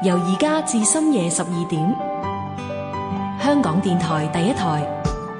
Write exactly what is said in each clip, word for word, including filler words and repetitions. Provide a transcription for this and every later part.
由而家至深夜十二點，香港電台第一台。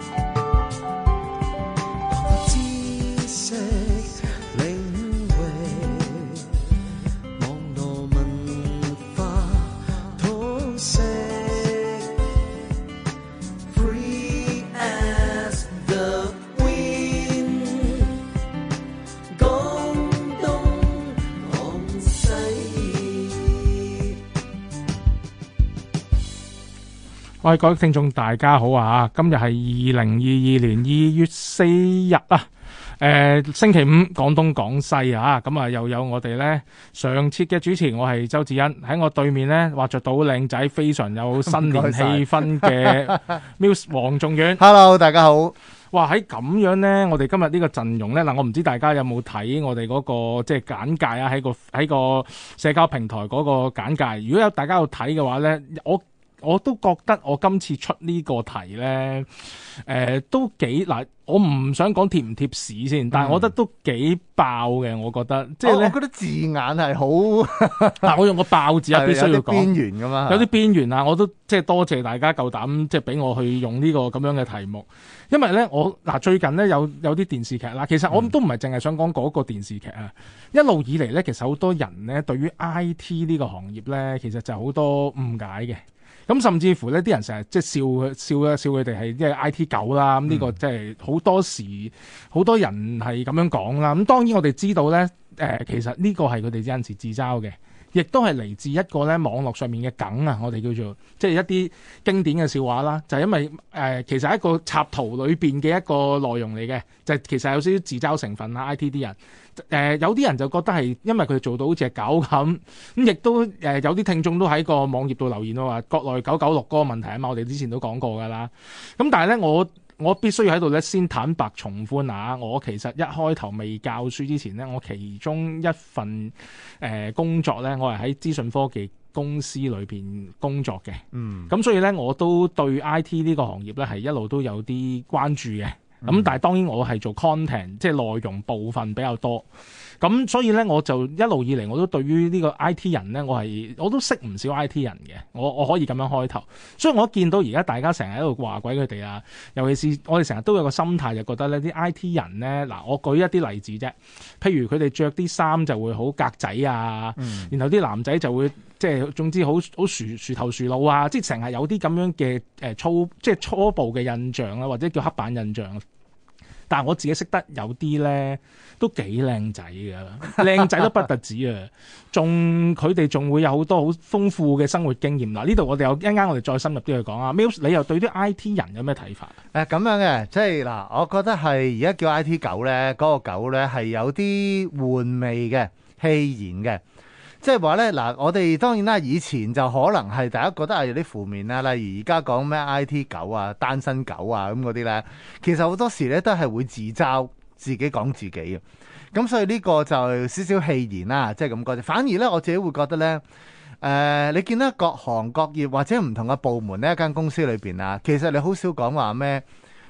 喂，各位聽眾大家好啊！今日係二零二二年二月四日啊，誒、呃、星期五廣東廣西啊，咁啊又有我哋咧上次嘅主持，我係周志恩，喺我對面咧畫着到靚仔，非常有新年氣氛嘅 Muse 黃仲遠。 Hello， 大家好。 哇！喺咁樣咧，我哋今日呢個陣容咧，嗱，我唔知大家有冇睇我哋嗰、那個即係簡介啊，喺個喺個社交平台嗰個簡介。如果有大家有睇嘅話咧，我我都覺得我今次出呢個題呢，誒、呃、都幾嗱，我唔想講貼唔貼市先，但係我覺得都幾爆嘅。我覺得即係咧， 我覺得字眼係好嗱，我用個爆字啊，必須要講邊緣㗎嘛， 有啲邊緣啊，我都即係多謝大家夠膽即係俾我去用呢個咁樣嘅題目，因為呢，我嗱最近呢，有有啲電視劇啦，其實我都唔係淨係想講嗰個電視劇啊，一路以嚟呢，其實好多人呢對於 I T 呢個行業呢，其實就好多誤解嘅。咁甚至乎呢啲人成日即係笑笑笑佢哋係即係 I T 狗啦。咁呢個即係好多時好多人係咁樣講啦。咁當然我哋知道咧，誒、呃、其實呢個係佢哋有陣時自嘲嘅，亦都係嚟自一個咧網絡上面嘅梗啊。我哋叫做即係一啲經典嘅笑話啦。就係、是、因為誒、呃、其實係一個插圖裏邊嘅一個內容嚟嘅，就係、其實有少少自嘲成分啦。I T 啲人。誒、呃、有啲人就覺得係因為佢做到好似係狗咁，咁亦都誒、呃、有啲聽眾都喺個網頁度留言咯，話國內九九六嗰個問題啊嘛，我哋之前都講過㗎啦。咁但係咧，我我必須要喺度咧先坦白從寬啊！我其實一開頭未教書之前咧，我其中一份誒、呃、工作咧，我係喺資訊科技公司裏邊工作嘅。嗯，咁所以咧，我都對 I T 呢個行業咧係一路都有啲關注嘅。咁、嗯、但係當然我係做 content， 即係內容部分比較多。咁所以咧，我就一路以嚟我都對於呢個 I T 人咧，我係我都識唔少 I T 人嘅。我我可以咁樣開頭。所以我見到而家大家成日喺度話鬼佢哋啊，尤其是我哋成日都有個心態，就覺得呢啲 I T 人咧，嗱我舉一啲例子啫。譬如佢哋着啲衫就會好格仔啊，嗯、然後啲男仔就會即係總之好好薯薯頭薯腦啊，即係成日有啲咁樣嘅誒粗即係初步嘅印象啦，或者叫刻板印象。但係我自己識得有啲咧都幾靚仔㗎，靚仔都不特止啊，仲佢哋仲會有好多好豐富嘅生活經驗。嗱，呢度我哋有一陣間我哋再深入啲去講啊。Muse， 你又對啲 I T 人有咩睇法？ 誒咁樣嘅，即係嗱，我覺得係而家叫 I T 狗咧，嗰、那個狗咧係有啲玩味嘅、戲言嘅。即係話咧，嗱，我哋當然啦，以前就可能係大家覺得係有啲負面啦，例如而家講咩 I T 狗啊、單身狗啊咁嗰啲咧，其實好多時咧都係會自嘲自己講自己嘅，咁所以呢個就少少戲言啦，即係咁講啫。反而咧，我自己會覺得咧，誒、呃，你見到各行各業或者唔同嘅部門呢，一間公司裏邊啊，其實你好少講話咩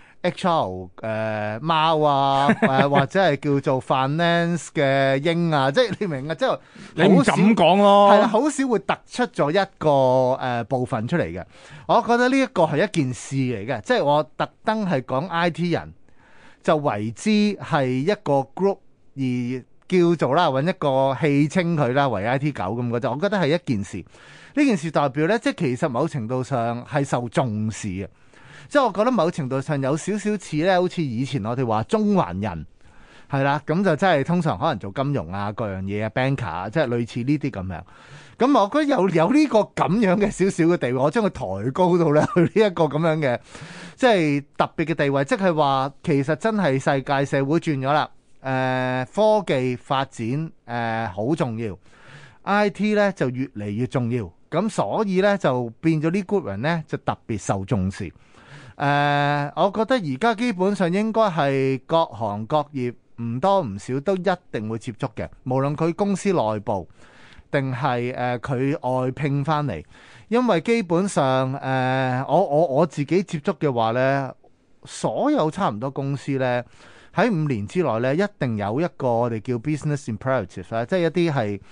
H R 誒、呃、貓啊，誒、呃、或者係叫做 finance 嘅鷹啊，即係你明啊，即係你唔敢講咯， 係啦，好少會突出咗一個誒、呃、部分出嚟嘅。我覺得呢一個係一件事嚟嘅，即係我特登係講 I T 人就為之係一個 group 而叫做啦，揾一個戲稱佢啦為 I T 狗咁嘅啫。我覺得係一件事，呢件事代表咧，即係其實某程度上係受重視嘅。即係我覺得某程度上有少少似咧，好似以前我哋話中環人係啦，咁就真係通常可能做金融啊、各樣嘢啊、banker 啊，即係類似呢啲咁樣。咁我覺得有有呢個咁樣嘅少少嘅地位，我將佢抬高到咧去呢一個咁樣嘅，即係特別嘅地位，即係話其實真係世界社會轉咗啦。誒、呃，科技發展誒好、呃、重要 ，I T 咧就越嚟越重要。咁所以咧就變咗呢 group 人咧就特別受重視。誒、呃，我覺得而家基本上應該係各行各業唔多唔少都一定會接觸嘅，無論佢公司內部定係誒佢外聘翻嚟，因為基本上誒、呃、我我我自己接觸嘅話呢，所有差唔多公司呢，喺五年之內呢，一定有一個我哋叫 business imperative 啦，即係一啲係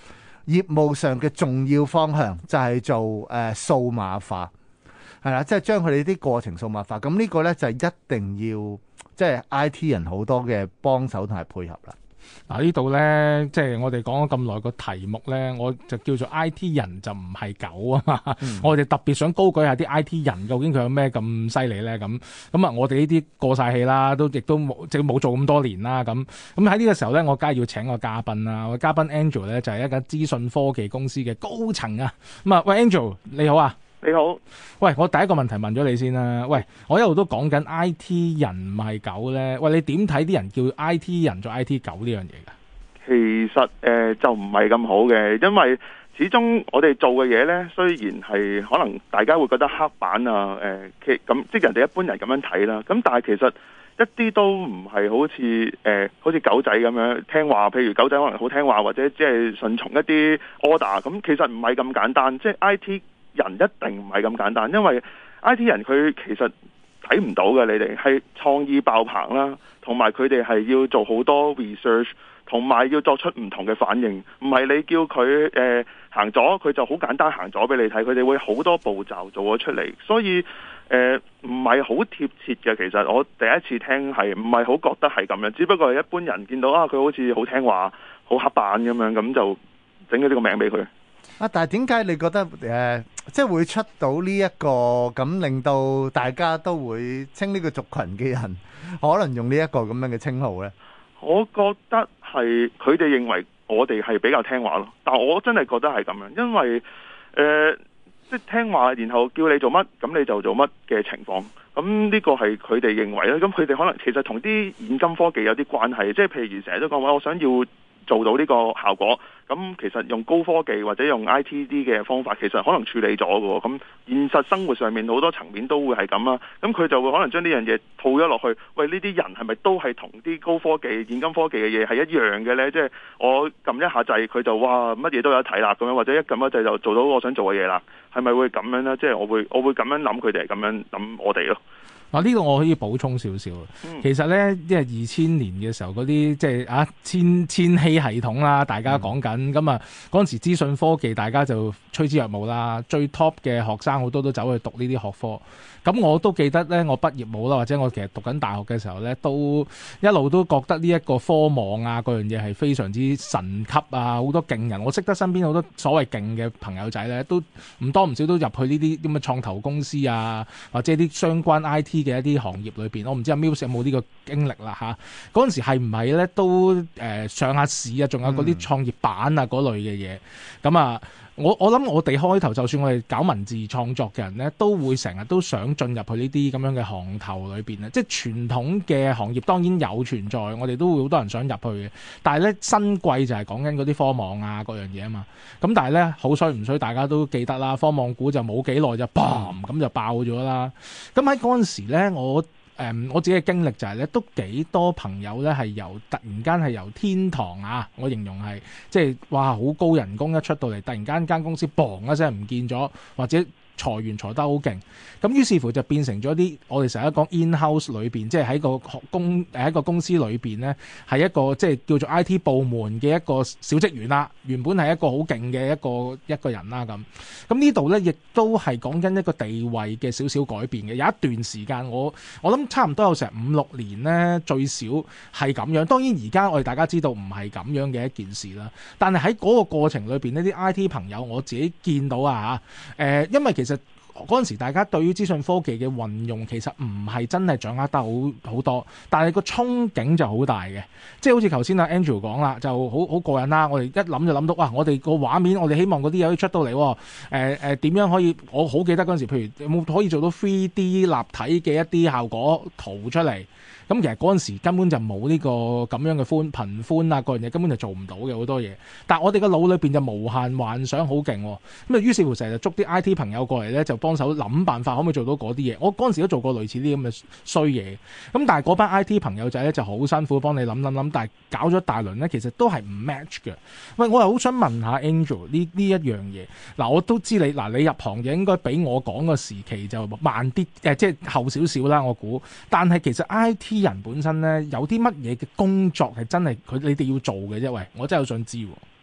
業務上嘅重要方向就係做誒、呃、數碼化，係啦，即係將佢哋啲過程數碼化。咁呢個呢，就係一定要即係 I T 人好多嘅幫手同埋配合啦。 嗱，呢度咧，即係我哋講咗咁耐個題目咧，我就叫做 I T 人就唔係狗啊嘛。嗯、我哋特別想高舉下啲 I T 人，究竟佢有咩咁犀利咧？咁咁啊，我哋呢啲過晒氣啦，都亦都冇即係冇做咁多年啦。咁咁喺呢個時候咧，我梗係要請個嘉賓啦。我嘉賓 Angel 咧就係一間資訊科技公司嘅高層啊。咁啊，喂 Angel 你好啊。 你好， 喂，我第一個問題問咗你先啦。喂，我一路都講緊 I T 人唔係狗咧。喂，你點睇啲人叫 I T 人做 I T 狗呢樣嘢噶？ 其實誒、呃、就唔係咁好嘅，因為始終我哋做嘅嘢呢，雖然係可能大家會覺得黑板啊，誒其咁即係人哋一般人咁樣睇啦。咁但係其實一啲都唔係好似誒、呃、好似狗仔咁樣聽話，譬如狗仔可能好聽話，或者即係順從一啲 order。咁其實唔係咁簡單，即係 I T 人一定唔係咁簡單，因為 I T 人佢其實睇唔到嘅，你哋係創意爆棚啦，同埋佢哋係要做好多 research， 同埋要作出唔同嘅反應。唔係你叫佢誒、呃、行咗，佢就好簡單行咗俾你睇，佢哋會好多步驟做咗出嚟，所以誒唔係好貼切嘅。其實我第一次聽係唔係好覺得係咁樣，只不過係一般人見到啊，佢好似好聽話、好黑板咁樣，咁就整咗呢個名俾佢。 啊！但係點解你覺得誒、呃，即係會出到呢、這、一個咁，令到大家都會稱呢個族群嘅人，可能用呢一個咁樣嘅稱號呢？ 我覺得係佢哋認為我哋係比較聽話咯，但我真係覺得係咁樣，因為誒、呃，即係聽話，然後叫你做乜，咁你就做乜嘅情況。咁呢個係佢哋認為咧，咁佢哋可能其實同啲現今科技有啲關係，即係譬如成日都講話，我想要做到呢個效果，咁其實用高科技或者用 I T D 嘅方法，其實可能處理咗嘅。咁現實生活上面好多層面都會係咁啦。咁佢就會可能將呢樣嘢套咗落去。喂，呢啲人係咪都係同啲高科技、現今科技嘅嘢係一樣嘅呢？即係我撳一下掣，佢就哇乜嘢都有得睇啦咁樣，或者一撳一掣就做到我想做嘅嘢啦。係咪會咁樣呢？即係我會我會咁樣諗，佢哋係咁樣諗我哋咯。 啊！呢個我可以補充少少。其實呢，即係二千年嘅時候嗰啲即係啊千千禧系統啦，大家講緊咁啊，嗰陣時資訊科技大家就趨之若鶩啦。最 top 嘅學生好多都走去讀呢啲學科。咁我都記得呢，我畢業冇啦，或者我其實讀緊大學嘅時候呢，都一路都覺得呢一個科網啊嗰樣嘢係非常之神級啊，好多勁人。我識得身邊好多所謂勁嘅朋友仔呢，都唔多唔少都入去呢啲咁嘅創投公司啊，或者啲相關 I T 嘅一啲行業裏邊，我唔知阿 Muse 有冇呢個經歷啦嚇。嗰陣時係唔係咧都誒、呃、上下市啊，仲有嗰啲創業板啊嗰類嘅嘢。咁啊，我我諗我哋開頭就算我哋搞文字創作嘅人咧，都會成日都想進入去呢啲咁樣嘅行頭裏邊啊。即係傳統嘅行業當然有存在，我哋都會好多人想入去嘅。但係咧新貴就係講緊嗰啲科網啊嗰樣嘢啊嘛。咁但係咧好衰唔衰，大家都記得啦。科網股就冇幾耐就砰咁就爆咗啦。咁喺嗰陣時咧，我誒、嗯、我自己嘅經歷就係、是、咧，都幾多朋友咧係由突然間係由天堂啊，我形容係即係哇好高人工一出到嚟，突然間間公司砰一聲唔見咗，或者裁員裁得好勁，咁於是乎就變成咗啲我哋成日講 in-house 裏邊，即係喺個公誒一個公司裏邊咧，係一個即係叫做 I T 部門嘅一個小職員啦。原本係一個好勁嘅一個一個人啦咁。咁呢度咧亦都係講緊一個地位嘅少少改變嘅。有一段時間我我諗差唔多有成五六年咧，最少係咁樣。當然而家我哋大家知道唔係咁樣嘅一件事啦。但係喺嗰個過程裏邊呢啲 I T 朋友我自己見到啊嚇誒，因為其實嗰陣時大家對於資訊科技嘅運用其實唔係真係掌握得好好多，但係個憧憬就好大嘅，即係好似頭先阿 Andrew 講啦，就好好過癮啦。我哋一諗就諗到，哇！我哋個畫面，我哋希望嗰啲嘢可以出到嚟，誒誒點樣可以？我好記得嗰陣時，譬如有冇可以做到 three D 立體嘅一啲效果圖出嚟？咁其實嗰陣時根本就冇呢個咁樣嘅寬頻寬啊，嗰樣嘢根本就做唔到嘅好多嘢。但係我哋個腦裏邊就無限幻想，好勁喎。咁啊，於是乎成日就捉啲 I T 朋友過嚟咧，就幫手諗辦法，可唔可以做到嗰啲嘢？我嗰陣時都做過類似啲咁嘅衰嘢。咁但係嗰班 I T 朋友仔咧就好辛苦幫你諗諗諗，但係搞咗大輪咧，其實都係唔 match 嘅。喂，我又好想問下 Angel 呢呢一樣嘢。嗱，我都知你嗱，你入行就應該比我講個時期就慢啲，誒、呃，即係後少少啦，我估。但係其實 I T 人本身咧有啲乜嘢嘅工作係真係佢你哋要做嘅啫？喂，我真係好想知喎。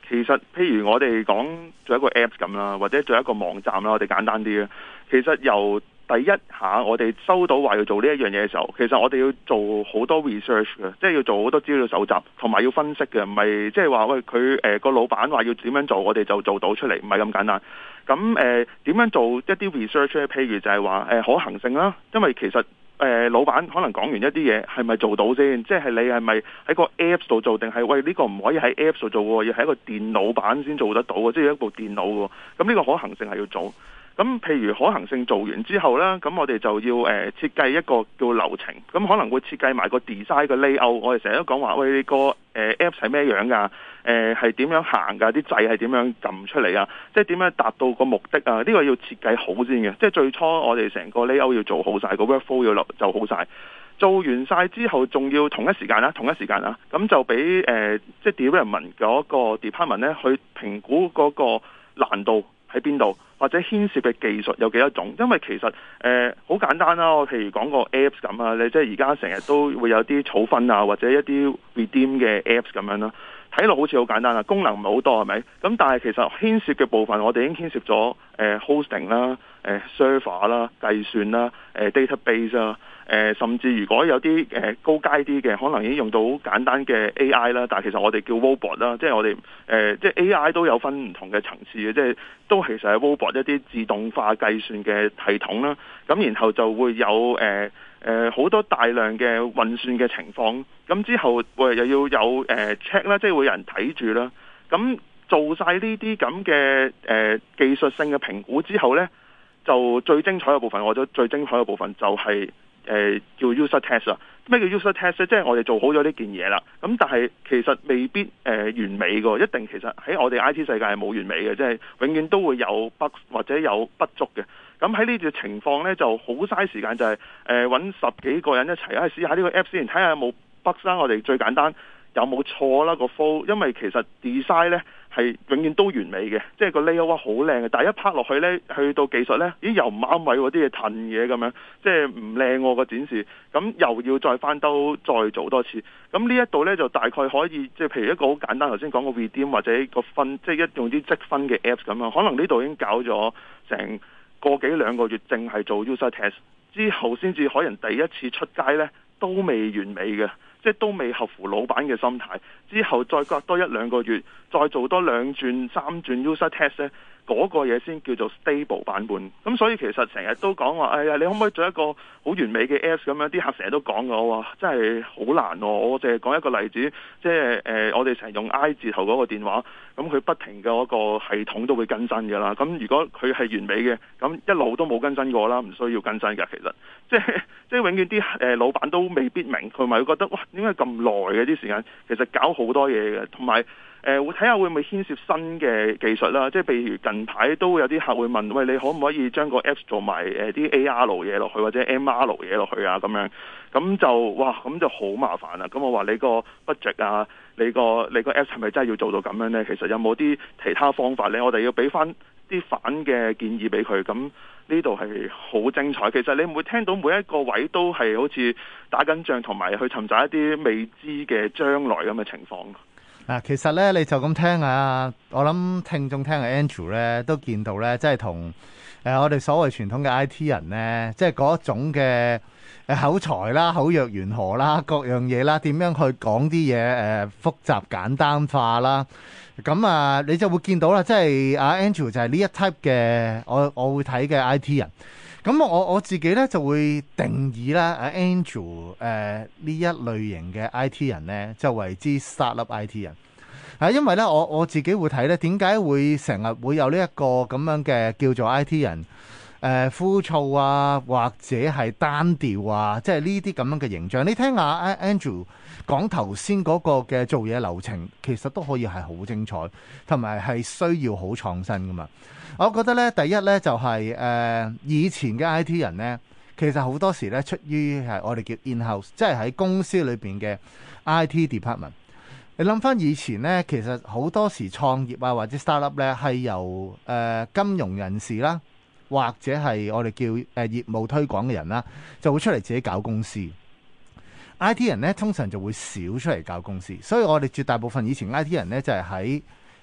其實譬如我哋講做一個 Apps 咁啦，或者做一個網站啦，我哋簡單啲啦。其實由第一下我哋收到話要做呢一樣嘢嘅時候，其實我哋要做好多 research 嘅，即係要做好多資料搜集，同埋要分析嘅，唔係即係話喂佢誒個老闆話要點樣做，我哋就做到出嚟，唔係咁簡單。咁誒點樣做一啲 research 咧？譬如就係話誒可行性啦，因為其實誒、呃、老闆可能講完一啲嘢係咪做到先？即係你係咪喺個 Apps 度做，定係喂呢、呢個唔可以喺 Apps 度做喎，要喺一個電腦版先做得到嘅，即係一部電腦喎。咁呢個可行性係要做。咁譬如可行性做完之後呢，咁我哋就要誒、呃、設計一個叫流程，咁可能會設計埋個 design 嘅 layout。我哋成日都講話，喂，你個誒 Apps 係咩樣㗎？誒係點樣行㗎？啲掣係點樣撳出嚟啊？即係點樣達到個目的啊？呢、呢個要設計好先嘅，即係最初我哋成個 layout 要做好晒，個 workflow 要做好晒。做完晒之後，仲要同一時間啦，同一時間啦，咁就俾誒、呃、即係 development 嗰個 department 咧去評估嗰個難度喺邊度，或者牽涉嘅技術有幾多種。因為其實誒好、呃、簡單啦，我譬如講個 Apps 咁啊，你即係而家成日都會有啲儲分啊，或者一啲 redeem 嘅 Apps 咁樣啦，睇落好似好簡單啦，功能唔係好多係咪？咁但係其實牽涉嘅部分，我哋已經牽涉咗誒、呃、hosting 啦、誒、呃、server 啦、計算啦、誒、呃、database 啦。誒、呃，甚至如果有啲誒、呃、高階啲嘅，可能已經用到好簡單嘅 A I 啦，但係其實我哋叫 robot 啦，即係我哋誒、呃，即係 A I 都有分唔同嘅層次嘅，即係都其實係 robot 一啲自動化計算嘅系統啦。咁然後就會有誒誒好多大量嘅運算嘅情況，咁之後會又要有誒 check 啦，即係會有人睇住啦。咁做晒呢啲咁嘅誒技術性嘅評估之後呢，就最精彩嘅部分，我覺得最精彩嘅部分就係、是。誒、呃、叫 user test 啊，咩叫 user test 咧？即係我哋做好咗呢件嘢啦，咁但係其實未必誒、呃、完美嘅，一定其實喺我哋 I T 世界係冇完美嘅，即係永遠都會有 bug 或者有不足嘅。咁喺呢個情況咧，就好嘥時間，就係誒揾十幾個人一齊啊，試下呢個 app 先，睇下有冇 bug 啦。我哋最簡單有冇錯啦個 flow，因為其實 design 咧係永遠都完美嘅，即係個 layout 好靚嘅，但係一拍落去咧，去到技術咧，咦又唔啱位喎，啲嘢褪嘢咁樣，即係唔靚喎個展示，咁又要再翻兜再做多次，咁呢一度咧就大概可以，即係譬如一個好簡單，頭先講個 redeem 或者個分，即係一用啲積分嘅 apps 咁樣，可能呢度已經搞咗成個幾兩個月，淨係做 user test 之後，先至可能第一次出街咧都未完美嘅。即係都未合乎老闆嘅心態，之後再隔多一兩個月，再做多兩轉三轉 user test 咧，嗰個嘢先叫做 stable 版本。咁所以其實成日都講話，哎呀，你可唔可以做一個好完美嘅 apps 咁樣？啲客成日都講嘅，我話真係好難喎。我淨係講一個例子，即係誒，我哋成日用 I 字頭嗰個電話，咁佢不停嘅嗰個系統都會更新嘅啦。咁如果佢係完美嘅，咁一路都冇更新過啦，唔需要更新嘅。其實即係即係永遠啲誒老闆都未必明，佢咪會覺得哇，點解咁耐嘅啲時間？其實搞好多嘢嘅，同埋誒會睇下會唔會牽涉新嘅技術啦。即係譬如近排都會有啲客會問，喂，你可唔可以將個 Apps 做埋誒啲 A R 嘢落去，或者 M R 嘢落去啊？咁樣咁就哇，咁就好麻煩啦。咁我話你個 budget 啊，你個你個 Apps 係咪真係要做到咁樣呢？其實有冇啲其他方法呢？我哋要俾翻啲反嘅建議俾佢。咁呢度係好精彩。其實你唔會聽到每一個位都係好似打緊仗，同埋去尋找一啲未知嘅將來咁嘅情況。 嗱，其實咧你就咁聽啊，我諗聽眾聽阿 Andrew 咧都見到咧，即係同誒我哋所謂傳統嘅 I T 人咧，即係嗰種嘅誒口才啦、口若懸河啦、各樣嘢啦，點樣去講啲嘢誒複雜簡單化啦，咁啊你就會見到啦，即係阿 Andrew 就係呢一 type 嘅我我會睇嘅 I T 人。咁我我自己咧就會定義啦，阿 Andrew 誒呢一類型嘅 I T 人咧，就為之 startup I T 人。啊，因為咧我我自己會睇咧，點解會成日會有呢一個咁樣嘅叫做 I T 人誒、呃、枯燥啊，或者係單調啊，即係呢啲咁樣嘅形象。你聽下 Andrew 講頭先嗰個嘅做嘢流程，其實都可以係好精彩，同埋係需要好創新噶嘛。我覺得咧，第一咧就係、是、誒、呃、以前嘅 I T 人咧，其實好多時咧出於係我哋叫 in-house，即係喺公司裏邊嘅 I T department。你諗翻以前咧，其實好多時創業啊或者 startup 咧係由誒、呃、金融人士啦，或者係我哋叫誒、呃、業務推廣嘅人啦，就會出嚟自己搞公司。I T 人咧通常就會少出嚟搞公司，所以我哋絕大部分以前 I T 人咧就係喺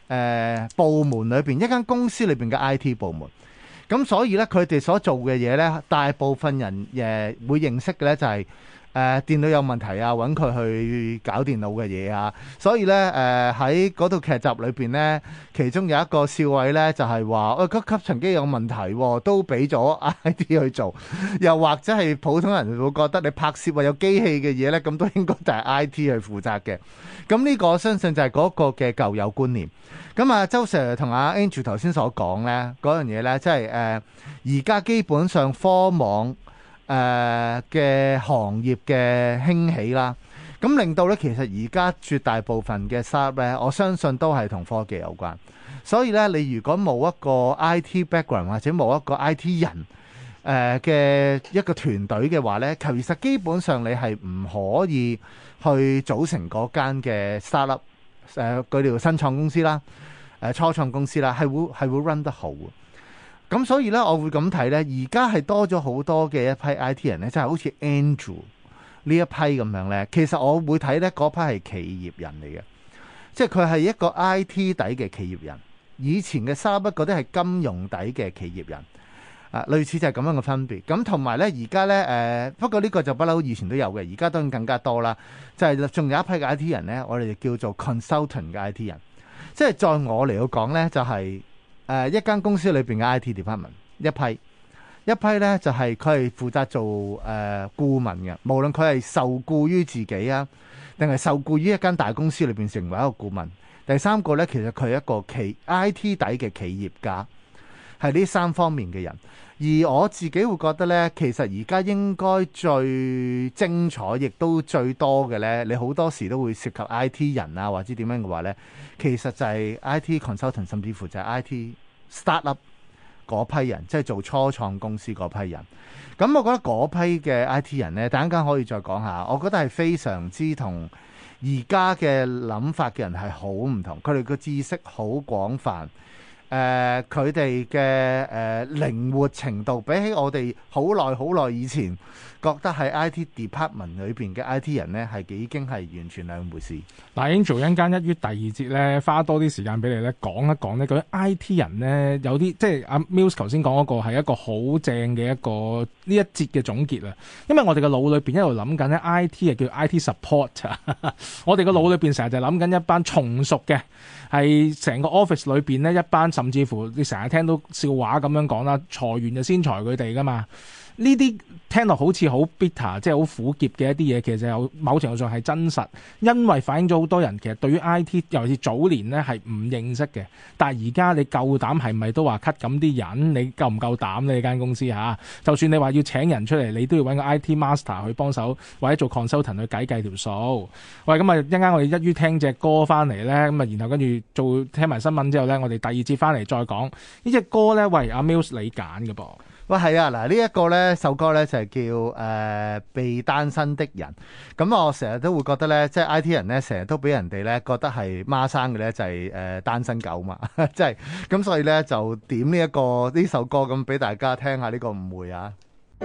呃、部門裏邊，一間公司裏邊嘅 I T 部門。咁所以咧，佢哋所做嘅嘢咧，大部分人誒、呃、會認識嘅咧就係、是、誒、呃、電腦有問題啊，揾佢去搞電腦嘅嘢啊。所以咧誒喺嗰套劇集裏邊咧，其中有一個笑位咧就係話，喂、哎，嗰吸塵機有問題、啊，都俾咗 I T 去做。又或者係普通人會覺得你拍攝或有機器嘅嘢咧，咁都應該就係 I T 去負責嘅。咁呢個我相信就係嗰個嘅舊有觀念。咁啊，周 Sir 同阿 Andrew 頭先所講咧，嗰樣嘢咧，即係誒而家基本上科網誒嘅行業嘅興起啦，咁令到咧其實而家絕大部分嘅 startup 咧，我相信都係同科技有關。所以咧，你如果冇一個 I T background 或者冇一個 I T 人誒嘅一個團隊嘅話咧，其實基本上你係唔可以去組成嗰間嘅 startup 誒佢哋新創公司啦。誒初創公司啦，係會係會 run 得好嘅。咁所以咧，我會咁睇咧，而家係多咗好多嘅一批 I T 人咧，即係好似 Andrew 呢一批咁樣咧。其實我會睇咧，嗰批係企業人嚟嘅，即係佢係一個 I T 底嘅企業人。以前嘅三不嗰啲係金融底嘅企業人啊，類似就係咁樣嘅分別。咁同埋咧，而家咧誒，不過呢個就不嬲，以前都有嘅，而家當然更加多啦。就係、是、仲有一批嘅 I T 人咧，我哋叫做 consultant 嘅 I T 人。即係在我嚟講呢，就係、是、誒、呃、一間公司裏邊嘅 I T department 一批，一批呢就係佢係負責做誒、呃、顧問嘅，無論佢係受僱於自己啊，定係受僱於一間大公司裏邊成為一個顧問。第三個呢，其實佢係一個企 I T 底嘅企業家，係呢三方面嘅人。而我自己會覺得呢，其實而家應該最精彩，亦都最多嘅呢，你好多時都會涉及 I T 人啊，或者點樣嘅話呢，其實就係 I T consultant， 甚至乎就係 I T startup 嗰批人，即係做初創公司嗰批人。咁我覺得嗰批嘅 I T 人呢，等陣間可以再講下，我覺得係非常之同而家嘅諗法嘅人係好唔同，佢哋嘅知識好廣泛。誒佢哋嘅誒靈活程度，比起我哋好耐好耐以前覺得係 I T department 裏邊嘅 I T 人呢，係已經係完全兩回事。 嗱，Angel 一陣間一於第二節咧，花多啲時間俾你咧講一講呢嗰啲 I T 人呢，有啲即係阿 Mills 頭先講嗰個係一個好正嘅一個呢一節嘅總結啊。因為我哋嘅腦裏邊一路諗緊咧 I T 係叫 I T support 啊，我哋嘅腦裏邊成日就諗緊一班從屬嘅。係成個 office 裏邊呢，一班甚至乎你成日聽到笑話咁樣講啦，裁員就先裁佢哋噶嘛。呢啲聽落好似好 bitter， 即係好苦澀嘅一啲嘢，其實有某程度上係真實，因為反映咗好多人其實對於 I T， 尤其是早年呢係唔認識嘅。但係而家你夠膽係咪都話 cut 咁啲人？你夠唔夠膽呢？你間公司嚇，就算你話要請人出嚟，你都要揾個 I T master 去幫手，或者做 consultant 去計計條數。喂，咁啊一陣間我哋一於聽隻歌翻嚟咧，咁啊然後跟住做聽埋新聞之後咧，我哋第二節翻嚟再講呢隻歌咧。喂，阿 Mills 你揀嘅噃。 喂，係啊，嗱呢一個呢首歌呢，就係叫誒、呃、被單身的人。咁我成日都會覺得呢，即係 I T 人呢，成日都俾人哋呢覺得係孖生嘅呢，就係、是、誒、呃、單身狗嘛，即係咁，所以呢，就點呢、這、一個呢首歌咁俾大家聽下呢個誤會啊。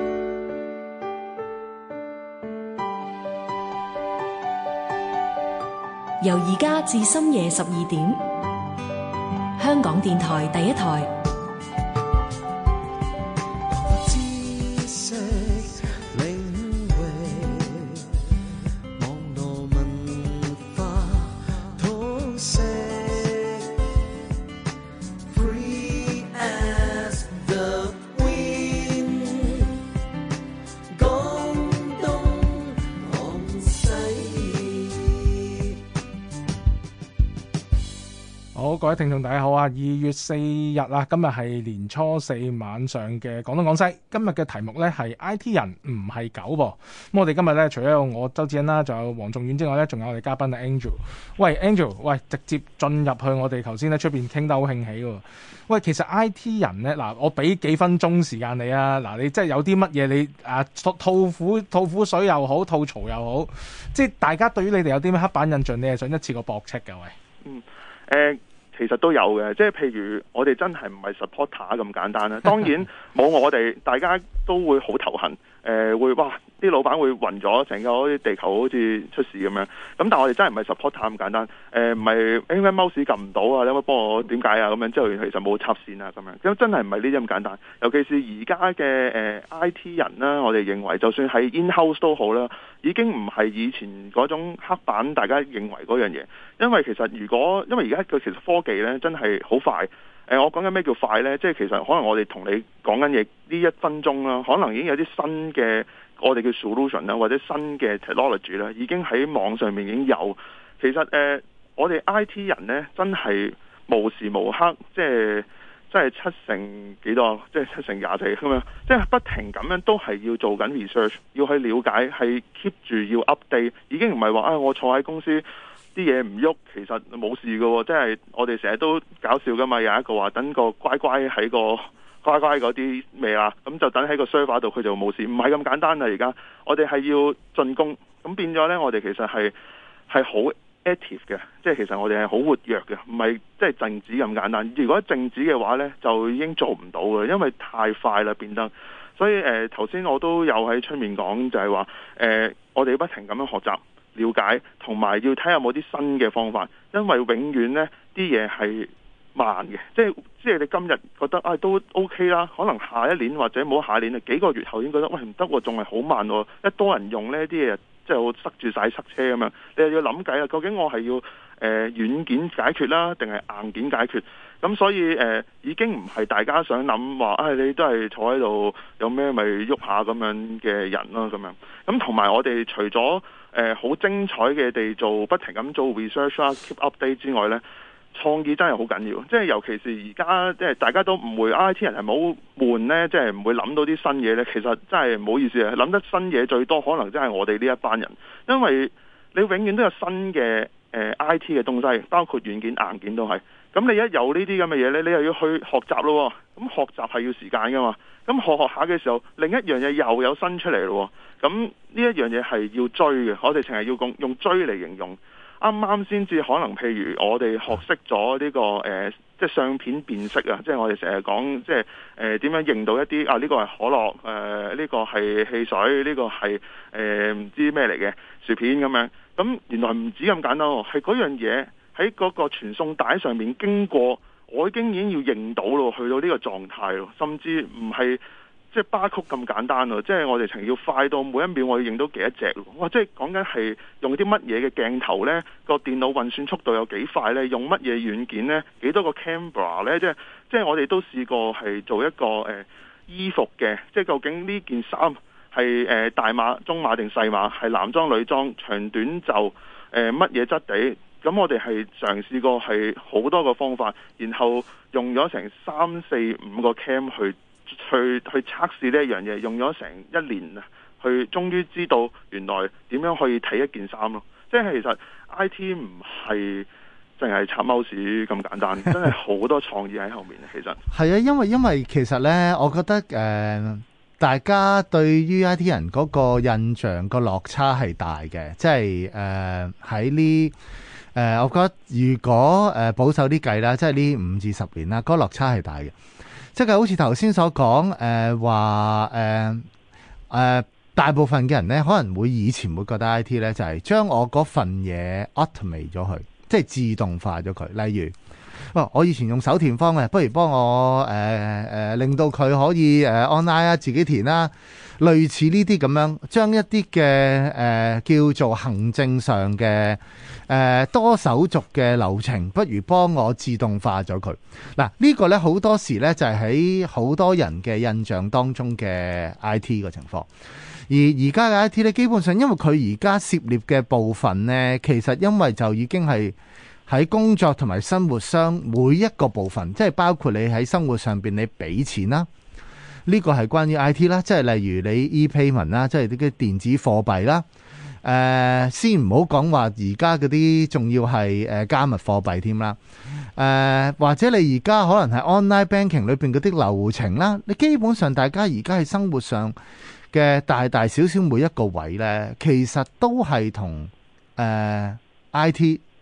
由而家至深夜十二點，香港電台第一台。 好，各位聽眾大家好啊！二月四日啊，今日係年初四晚上嘅廣東廣西。今日嘅題目呢係 I T 人唔係狗噃。咁我哋今日呢，除咗有我周志恩啦，仲有黃仲遠之外呢，仲有我哋嘉賓啊 Angel。喂 Angel， 喂，直接進入去我哋頭先呢出邊傾得好興起喎。喂，其實 I T 人呢，嗱，我俾幾分鐘時間你啊。嗱，你即係有啲乜嘢你啊吐苦吐苦水又好，吐槽又好，即係大家對於你哋有啲咩刻板印象，你係想一次過駁斥㗎？喂， 嗯，誒、呃。其實都有嘅，即係譬如我哋真係唔係 supporter 咁簡單啦。當然冇我哋，大家都會好頭痕。誒、 誒會哇啲老闆會暈咗，成個啲地球好似出事咁樣。咁但係我哋真係唔係 support 咁簡單。誒唔係因為 mouse 撳唔到啊，你可唔可以幫我點解啊？咁樣之後其實冇插線啊咁樣。咁真係唔係呢啲咁簡單。尤其是而家嘅誒 I T 人啦，我哋認為就算喺 in house 都好啦，已經唔係以前嗰種黑板大家認為嗰樣嘢。因為其實如果因為而家佢其實科技咧真係好快。誒、呃，我講緊咩叫快呢？即係其實可能我哋同你講緊嘢呢一分鐘啦，可能已經有啲新嘅我哋叫 solution 啦，或者新嘅 technology 啦，已經喺網上面已經有。其實誒、呃，我哋 I T 人呢，真係無時無刻，即係即係七成幾多，即係七成廿四咁樣，即係不停咁樣都係要做緊 research，要去了解，係 keep 住要 update，已經唔係話啊我坐喺公司。啲嘢唔喐，其實冇事嘅喎，即係我哋成日都搞笑噶嘛。有一個話等個乖乖喺個乖乖嗰啲咩啦，咁就等喺個 server 度，佢就冇事，唔係咁簡單啦。而家我哋係要進攻，咁變咗呢，我哋其實係係好 active 嘅，即係其實我哋係好活躍嘅，唔係即係靜止咁簡單。如果靜止嘅話呢，就已經做唔到嘅，因為太快啦變得。所以誒頭先我都有喺出面講，就係話誒我哋不停咁樣學習。了解同埋要睇下有冇啲新嘅方法，因為永遠呢啲嘢係慢嘅，即係即係你今日覺得啊、哎、都 OK 啦，可能下一年或者冇下一年啊幾個月後已經覺得喂唔得喎，仲係好慢喎，一多人用呢啲嘢即係塞住晒塞車咁樣，你又要諗計啦，究竟我係要誒、呃、軟件解決啦，定係硬件解決？咁所以誒、呃、已經唔係大家想諗話，唉、哎、你都係坐喺度有咩咪喐下咁樣嘅人咯咁樣。咁同埋我哋除咗誒好精彩嘅地做，不停咁做 research 啦 keep update 之外呢，創意真係好緊要。即係尤其是而家即係大家都唔會 I T 人係冇悶呢，即係唔會諗到啲新嘢呢。其實真係唔好意思啊，諗得新嘢最多可能真係我哋呢一班人，因為你永遠都有新嘅誒、呃、I T 嘅東西，包括軟件硬件都係。咁你一有呢啲咁嘅嘢呢，你又要去學習咯。咁學習係要時間噶嘛。咁學學下嘅時候，另一樣嘢又有新出嚟咯。咁呢一樣嘢係要追嘅，我哋淨係要用用追嚟形容。啱啱先至可能，譬如我哋學識咗呢、這個誒、呃，即係相片辨識啊，即係我哋成日講，即係誒點樣認到一啲啊呢、這個係可樂，誒、呃、呢、這個係汽水，呢、這個係誒唔知咩嚟嘅薯片咁樣。咁原來唔止咁簡單喎，係嗰樣嘢喺嗰個傳送帶上面經過，我已經已經要認到咯，去到呢個狀態咯，甚至唔係。即係巴曲咁簡單咯，即係我哋情要快到每一秒我要認到幾多隻咯。哇！即係講緊係用啲乜嘢嘅鏡頭呢？個電腦運算速度有幾快呢？用乜嘢軟件呢？幾多個 camera 呢？即係即係我哋都試過係做一個誒、呃、衣服嘅，即係究竟呢件衫係誒大碼、中碼定細碼？係男裝、女裝、長短袖誒乜嘢質地？咁我哋係嘗試過係好多個方法，然後用咗成三四五個 cam 去。去去測試呢一樣嘢，用咗成一年啊，去終於知道原來點樣可以睇一件衫咯。即係其實 I T 唔係淨係插 mouse 咁簡單，真係好多創意喺後面。其實係啊，因為因為其實呢，我覺得誒、呃，大家對於 I T 人嗰個印象個落差係大嘅，即係誒喺呢誒，我覺得如果誒、呃、保守啲計啦，即係呢五至十年啦，嗰、嗰個落差係大嘅。即係好似頭先所講，誒話誒誒，大部分嘅人咧，可能會以前會覺得 I T 咧就係、是、將我嗰份嘢 automate 咗佢，即係自動化咗佢。例如，哇！我以前用手填方嘅，不如幫我誒誒、呃呃、令到佢可以誒 online 啊，自己填啦。類似呢啲咁樣，將一啲嘅誒叫做行政上嘅誒、呃、多手續嘅流程，不如幫我自動化咗佢。嗱，呢個呢，好多時呢就係喺好多人嘅印象當中嘅 I T 嘅情況。而而家嘅 I T 呢，基本上因為佢而家涉獵嘅部分呢，其實因為就已經係喺工作同埋生活上每一個部分，即係包括你喺生活上邊你俾錢啦。呢個係關於 I T 啦，即係例如你 e-payment 啦，即係啲嘅電子貨幣啦。誒、呃，先唔好講話而家嗰啲仲要係誒加密貨幣添啦。誒、呃，或者你而家可能係 online banking 裏邊嗰啲流程啦，你基本上大家而家喺生活上嘅大大小小每一個位呢，其實都係同誒 I T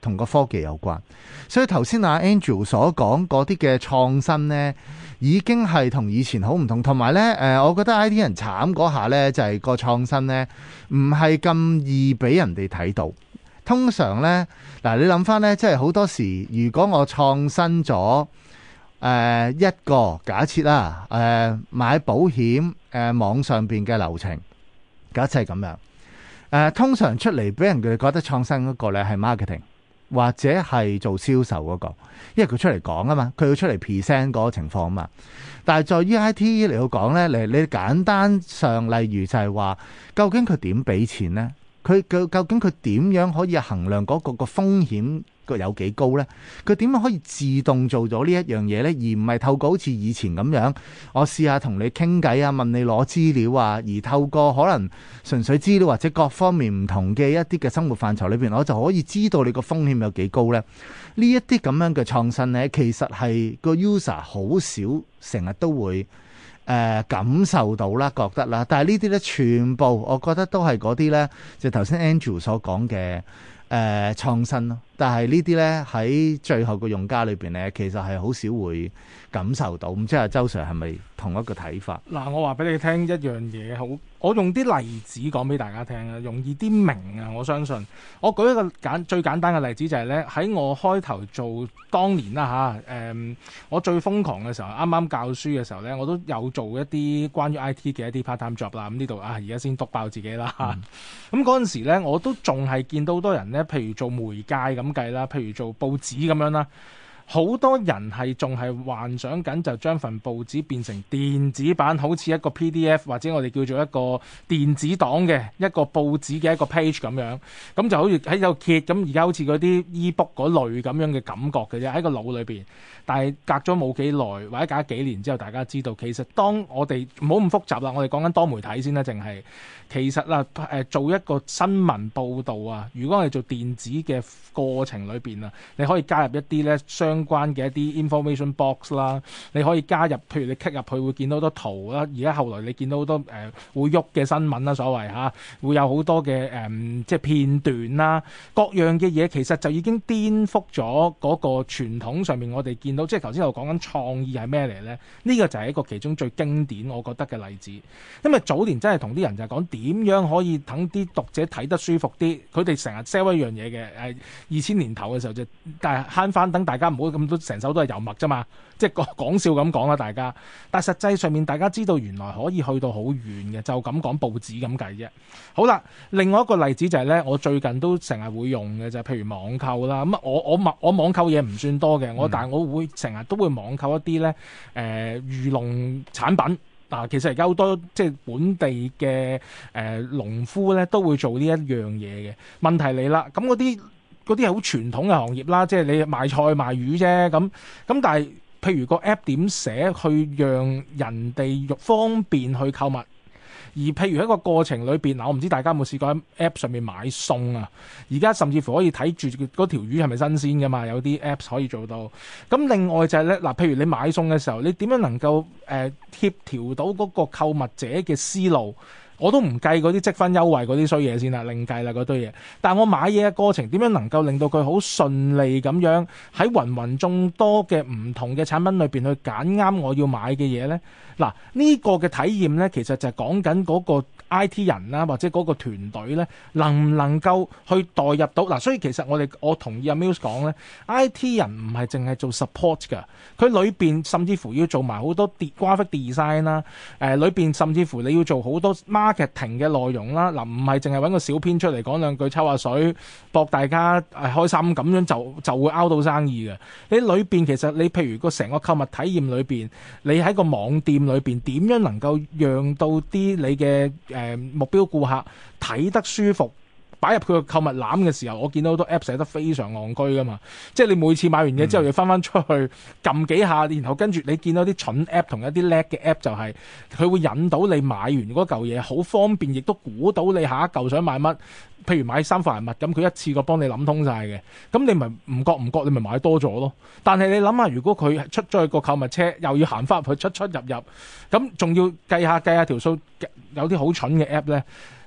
同個科技有關。所以頭先阿 Andrew 所講嗰啲嘅創新呢，已經係同以前好唔同。同埋呢，誒，我覺得 I T 人慘嗰下呢，就係個創新呢，唔係咁易俾人哋睇到。通常呢，嗱，你諗翻呢，即係好多時，如果我創新咗誒、呃、一個假設啦，誒、呃、買保險誒、呃、網上邊嘅流程，假設係咁樣，誒、呃、通常出嚟俾人哋覺得創新嗰個咧係 marketing 或者係做銷售嗰個，因為佢出嚟講啊嘛，佢要出嚟 present 嗰個情況啊嘛。但係在於 I T 嚟到講呢，你你簡單上例如就係話，究竟佢點俾錢呢？佢究究竟佢點樣可以衡量嗰個個風險個有幾高呢？佢點樣可以自動做咗呢一樣嘢呢？而唔係透過好似以前咁樣，我試下同你傾偈啊，問你攞資料啊，而透過可能純粹資料或者各方面唔同嘅一啲嘅生活範疇裏邊，我就可以知道你個風險有幾高呢？呢一啲咁樣嘅創新呢，其實係個 user 好少成日都會誒、呃、感受到啦，覺得啦。但係呢啲呢，全部我覺得都係嗰啲呢，就頭先 Andrew 所講嘅誒創新咯。但係呢啲呢，喺最後個用家裏邊呢，其實係好少會感受到。唔知阿周 Sir 係咪同一個睇法？ 嗱，我話俾你聽一樣嘢，好，我用啲例子講俾大家聽啊，容易啲明啊！我相信，我舉一個簡最簡單嘅例子就係呢：喺我開頭做當年啦嚇，誒、嗯，我最瘋狂嘅時候，啱啱教書嘅時候呢，我都有做一啲關於 I T 嘅一啲 part time job 啦。咁呢度啊，而家先篤爆自己啦。咁嗰陣時呢，我都仲係見到好多人呢，譬如做媒介咁計啦，譬如做報紙咁樣啦。好多人係仲係幻想緊就將份報紙變成電子版，好似一個 P D F 或者我哋叫做一個電子檔嘅一個報紙嘅一個 page 咁樣，咁就好似喺度揭咁。而家好似嗰啲 e-book 嗰類咁樣嘅感覺嘅啫，喺個腦裏邊。但係隔咗冇幾耐，或者隔咗幾年之後，大家知道其實當我哋唔好咁複雜啦，我哋講緊多媒體先啦，淨係其實啦誒做一個新聞報導啊，如果我哋做電子嘅過程裏邊啊，你可以加入一啲咧相關嘅一啲 information box 啦，你可以加入，譬如你 click 入去會見到好多圖啦，而家後來你見到好多誒、呃、會喐嘅新聞啦，所謂嚇會有好多嘅誒、呃、即係片段啦，各樣嘅嘢其實就已經顛覆咗嗰個傳統上面我哋見到，即係頭先我講緊創意係咩嚟咧？呢、這個就係一個其中最經典我覺得嘅例子，因為早年真係同啲人就係講點樣可以等啲讀者睇得舒服啲，佢哋成日 sell 一樣嘢嘅誒。二千年頭嘅時候就，但係慳翻等大家唔好咁多成手都係油墨啫嘛，即係講講笑咁講啦大家。但係實際上面大家知道原來可以去到好遠嘅，就咁講報紙咁計啫。好啦，另外一個例子就係咧，我最近都成日會用嘅就係譬如網購啦。咁我我我網購嘢唔算多嘅，我、嗯、但係我會成日都會網購一啲咧誒漁農產品。嗱、啊，其實而家好多即係本地嘅誒、呃、農夫咧都會做呢一樣嘢嘅。問題嚟啦，咁嗰啲嗰啲係好傳統嘅行業啦，即係你賣菜賣魚啫。咁咁但係譬如個 app 點寫去讓人哋方便去購物？而譬如喺個過程裏邊，嗱，我唔知大家有冇試過喺 App 上面買餸啊？而家甚至乎可以睇住嗰條魚係咪新鮮㗎嘛？有啲 Apps 可以做到。咁另外就係咧，嗱，譬如你買餸嘅時候，你點樣能夠誒、呃、協調到嗰個購物者嘅思路？我都唔計嗰啲積分優惠嗰啲衰嘢先啦，另計啦嗰堆嘢。但係我買嘢嘅過程點樣能夠令到佢好順利咁樣喺芸芸眾多嘅唔同嘅產品裏邊去揀啱我要買嘅嘢呢？嗱，呢個嘅體驗呢，其實就係講緊嗰個 I T 人啦，或者嗰個團隊呢，能唔能夠去代入到嗱？所以其實我哋我同意阿 Mills 講呢 I T 人唔係淨係做 support 㗎，佢裏邊甚至乎要做埋好多 graphic design 啦，誒裏邊甚至乎你要做好多 marketing 嘅內容啦。嗱，唔係淨係揾個小編出嚟講兩句抽下水，博大家誒開心咁樣就就會 out 到生意嘅。你裏邊其實你譬如個成個購物體驗裏邊，你喺個網店裏邊點樣能夠讓到啲你嘅誒、呃、目標顧客睇得舒服，擺入佢個購物籃嘅時候，我見到好多 app 寫得非常戇居噶嘛，即係你每次買完嘢之後要翻翻出去撳幾下，然後跟住你見到啲蠢 app 同一啲叻嘅 app 就係、是、佢會引到你買完嗰嚿嘢好方便，亦都估到你下一嚿想買乜。譬如買衫褲鞋襪咁，佢一次過幫你諗通晒嘅，咁你咪唔覺唔覺你咪買多咗咯。但係你諗下，如果佢出咗去個購物車，又要行翻入去出出入入，咁仲要計下計下條數，有啲好蠢嘅 app 咧。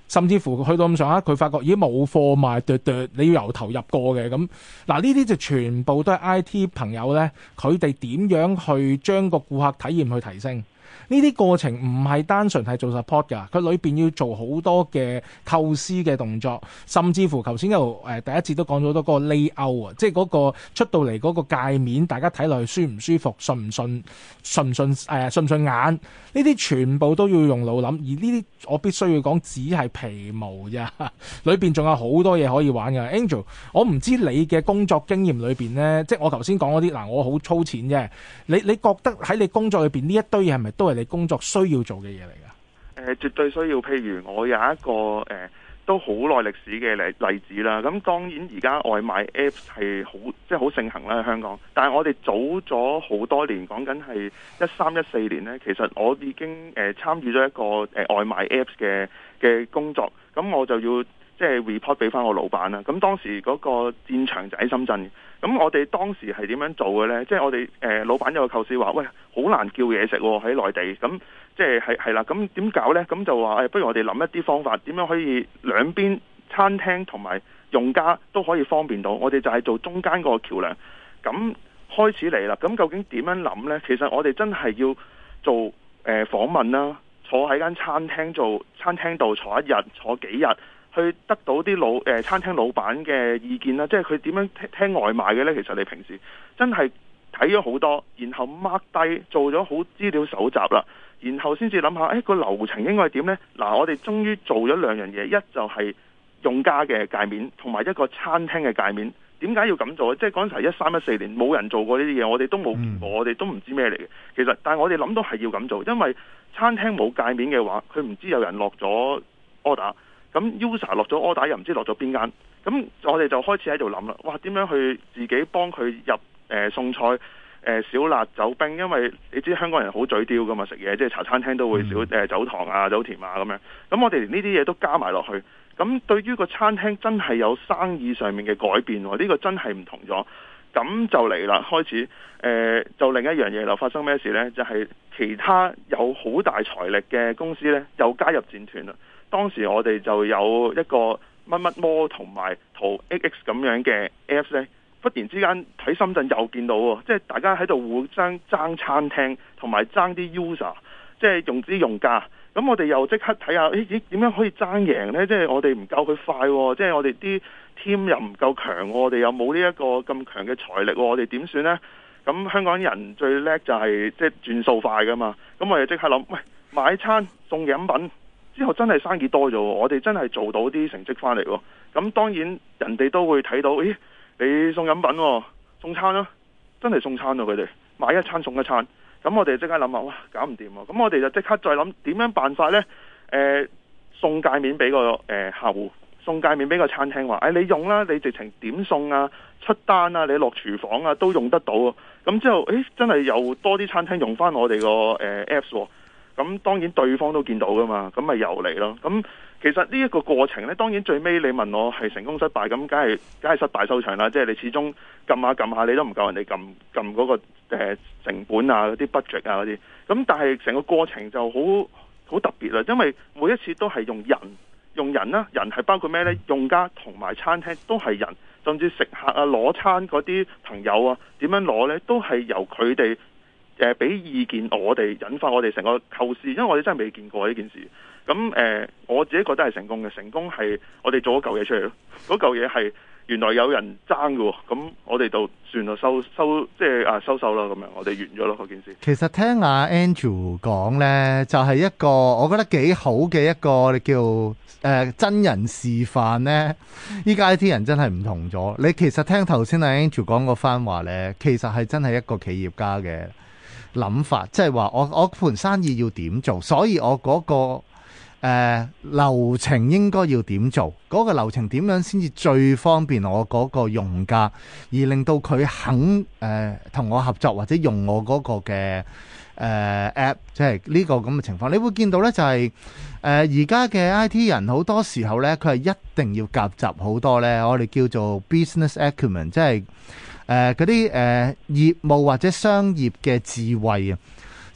甚至乎去到咁上下，佢發覺咦冇貨賣，剁剁你要由頭入過嘅咁。嗱，呢啲就全部都係 I T 朋友呢，佢哋點樣去將個顧客體驗去提升？呢啲過程唔係單純係做 support 㗎，佢裏邊要做好多嘅構思嘅動作，甚至乎頭先又誒第一節都講咗好多個 layout 啊，即係嗰個出到嚟嗰個界面，大家睇落去舒唔舒服、順唔順、順唔順誒順唔順眼，呢啲全部都要用腦諗。而呢啲我必須要講，只係皮毛咋，裏邊仲有好多嘢可以玩㗎。Angel， 我唔知你嘅工作經驗裏邊呢，即係我頭先講嗰啲嗱，我好粗淺啫。你你覺得喺你工作裏邊呢一堆嘢係咪都係你工作需要做嘅嘢嚟㗎？ 誒、呃，絕對需要。譬如我有一個誒、呃、都好耐歷史嘅例例子啦。咁當然而家外賣 Apps 係好即係好盛行啦，喺香港。但係我哋早咗好多年，講緊係一三一四年呢，其實我已經誒、呃、參與咗一個誒、呃、外賣 Apps 嘅嘅工作。咁我就要即係 report 俾翻我老闆啦。咁當時嗰個戰場就喺深圳。咁我哋當時係點樣做嘅呢？即係我哋誒、呃、老闆有個構思話，喂，好難叫嘢食喎，喺內地。咁即係係係啦。咁點搞呢？咁就話誒、哎，不如我哋諗一啲方法，點樣可以兩邊餐廳同埋用家都可以方便到。我哋就係做中間個橋梁。咁開始嚟啦。咁究竟點樣諗呢？其實我哋真係要做誒、呃、訪問啦，坐喺間餐廳做餐廳度坐一日，坐幾日。去得到啲老誒、呃、餐廳老闆嘅意見啦，即係佢點樣聽，聽外賣嘅呢？其實你平時真係睇咗好多，然後 mark 低做咗好資料搜集啦，然後先至諗下，誒、哎、個流程應該係點呢？嗱，我哋終於做咗兩樣嘢，一就係用家嘅界面，同埋一個餐廳嘅界面。點解要咁做？即係嗰陣時一三一四年冇人做過呢啲嘢，我哋都冇見過，我哋都唔知咩嚟嘅。其實，但係我哋諗到係要咁做，因為餐廳冇界面嘅話，佢唔知有人落咗 order。咁 user 落咗 order 又唔知落咗邊間，咁我哋就開始喺度諗啦。哇，點樣去自己幫佢入誒、呃、餸菜誒、呃、少辣走冰？因為你知香港人好嘴刁噶嘛，食嘢即係茶餐廳都會少誒、呃、走糖啊、走甜啊咁樣。咁我哋連呢啲嘢都加埋落去，咁對於個餐廳真係有生意上面嘅改變喎。呢、這個真係唔同咗。咁就嚟啦，開始誒、呃、就另一樣嘢啦。發生咩事呢？就係、是、其他有好大財力嘅公司呢，又加入戰團啦。當時我哋就有一個乜乜摩同埋淘 X X 咁樣嘅 Apps 咧，忽然之間喺深圳又見到喎，即係大家喺度互相爭餐廳同埋爭啲 user，即係用啲用家。咁我哋又即刻睇下，誒咦點樣可以爭贏呢？即係我哋唔夠佢快，即係我哋啲 team 又唔夠強，我哋又冇呢一個咁強嘅財力，我哋點算呢？咁香港人最叻就係即係轉數快噶嘛。咁我哋即刻諗，喂，買餐送飲品。之後真係生意多咗，我哋真係做到啲成績翻嚟喎。咁當然人哋都會睇到，咦？你送飲品、送餐啦、啊，真係送餐咯、啊！佢哋買一餐送一餐。咁我哋即刻諗下，哇，搞唔掂喎！咁我哋就即刻再諗點樣辦法呢？誒、呃，送界面俾個誒、呃、客戶，送界面俾個餐廳話，誒、哎、你用啦，你直情點送啊、出單啊、你落廚房啊都用得到啊。咁之後，誒真係又多啲餐廳用翻我哋個誒 Apps 喎。咁當然對方都見到噶嘛，咁咪又嚟咯。咁其實呢一個過程呢，當然最尾你問我係成功失敗，咁梗係梗係失敗收場啦。即係你始終撳下撳下，你都唔夠人哋撳撳嗰個、呃、成本啊、嗰啲 budget 啊嗰啲。咁但係成個過程就好好特別啦，因為每一次都係用人用人啦，人係包括咩呢？用家同埋餐廳都係人，甚至食客啊攞餐嗰啲朋友啊點樣攞呢？都係由佢哋。誒俾、呃、意見我哋，引發我哋成個構思，因為我哋真係未見過呢件事。咁誒、呃，我自己覺得係成功嘅，成功係我哋做咗嚿嘢出嚟咯。嗰嚿嘢係原來有人爭嘅，咁我哋就算啦，收收即係啊收手啦，咁樣我哋完咗咯嗰件事。 其實聽阿 Andrew 講呢，就係、是、一個我覺得幾好嘅一個你叫誒、呃、真人示範呢。依家 I T 人真係唔同咗。你其實聽頭先阿 Andrew 講嗰番話呢，其實係真係一個企業家嘅諗法，即係話我我盤生意要點做，所以我嗰、那個誒、呃、流程應該要點做，嗰、那個流程點樣先至最方便我嗰個用家，而令到佢肯誒同、呃、我合作或者用我嗰個嘅誒、呃、app， 即係呢個咁嘅情況。你會見到呢，就係誒而家嘅 I T 人好多時候呢，佢係一定要夾雜好多呢，我哋叫做 business acumen， 即係誒嗰啲誒業務或者商業嘅智慧啊，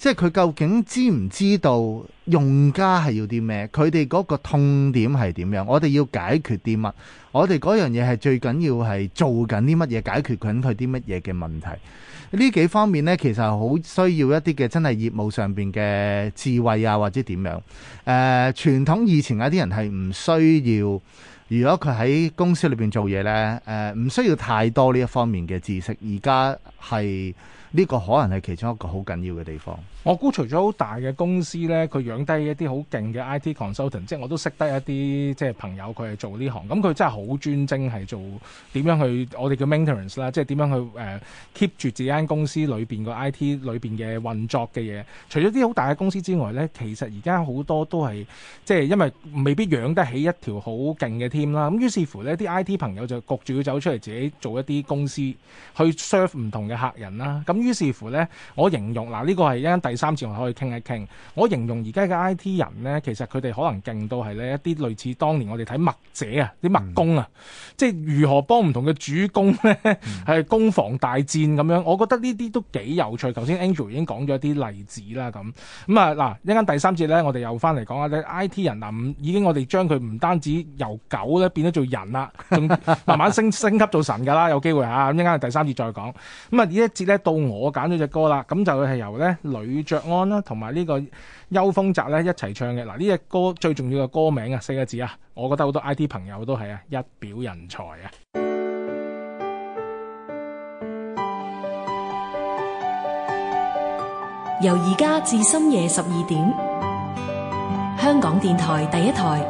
即係佢究竟知唔知道用家係要啲咩？佢哋嗰個痛點係點樣？我哋要解決啲乜？我哋嗰樣嘢係最緊要係做緊啲乜嘢？解決緊佢啲乜嘢嘅問題？呢幾方面呢，其實好需要一啲嘅真係業務上邊嘅智慧啊，或者點樣？誒、呃，傳統以前有啲人係唔需要。如果佢喺公司裏邊做嘢呢，誒、呃、唔需要太多呢一方面嘅知識。而家係呢個可能係其中一個好緊要嘅地方。 我估除咗好大嘅公司呢，佢養低一啲好勁嘅 I T consultant，即係我都識得一啲即係朋友，佢係做呢行，咁佢真係好專精係做點樣去我哋叫 maintenance 啦，即係點樣去誒、呃、keep 住自己間公司裏邊個 I T 裏邊嘅運作嘅嘢。除咗啲好大嘅公司之外呢，其實而家好多都係即係因為未必養得起一條好勁嘅 team 啦，咁於是乎呢啲 I T 朋友就焗住要走出嚟自己做一啲公司去 serve 唔同嘅客人啦。咁於是乎呢，我形容嗱呢、這個係一間第三次我可以傾一傾。我形容而家嘅 I T 人呢，其實佢哋可能勁到係呢一啲類似當年我哋睇墨者啊，啲墨工啊，嗯、即係如何幫唔同嘅主攻呢係攻防大戰咁樣。我覺得呢啲都幾有趣。頭先 Angel 已經講咗一啲例子啦，咁咁啊嗱，一間第三節呢，我哋又翻嚟講下咧 I T 人嗱，已經我哋將佢唔單止由狗咧變咗做人啦，仲慢慢升升級做神㗎啦，有機會嚇。咁一間第三節再講。咁啊呢一節咧到我揀咗隻歌啦，咁就係由咧呂爵安啦同埋呢個邱鋒澤咧一齊唱嘅。嗱，呢隻歌最重要嘅歌名啊，四個字啊，我覺得好多 I T 朋友都係啊，一表人才啊。 由而家至深夜十二點，香港電台第一台。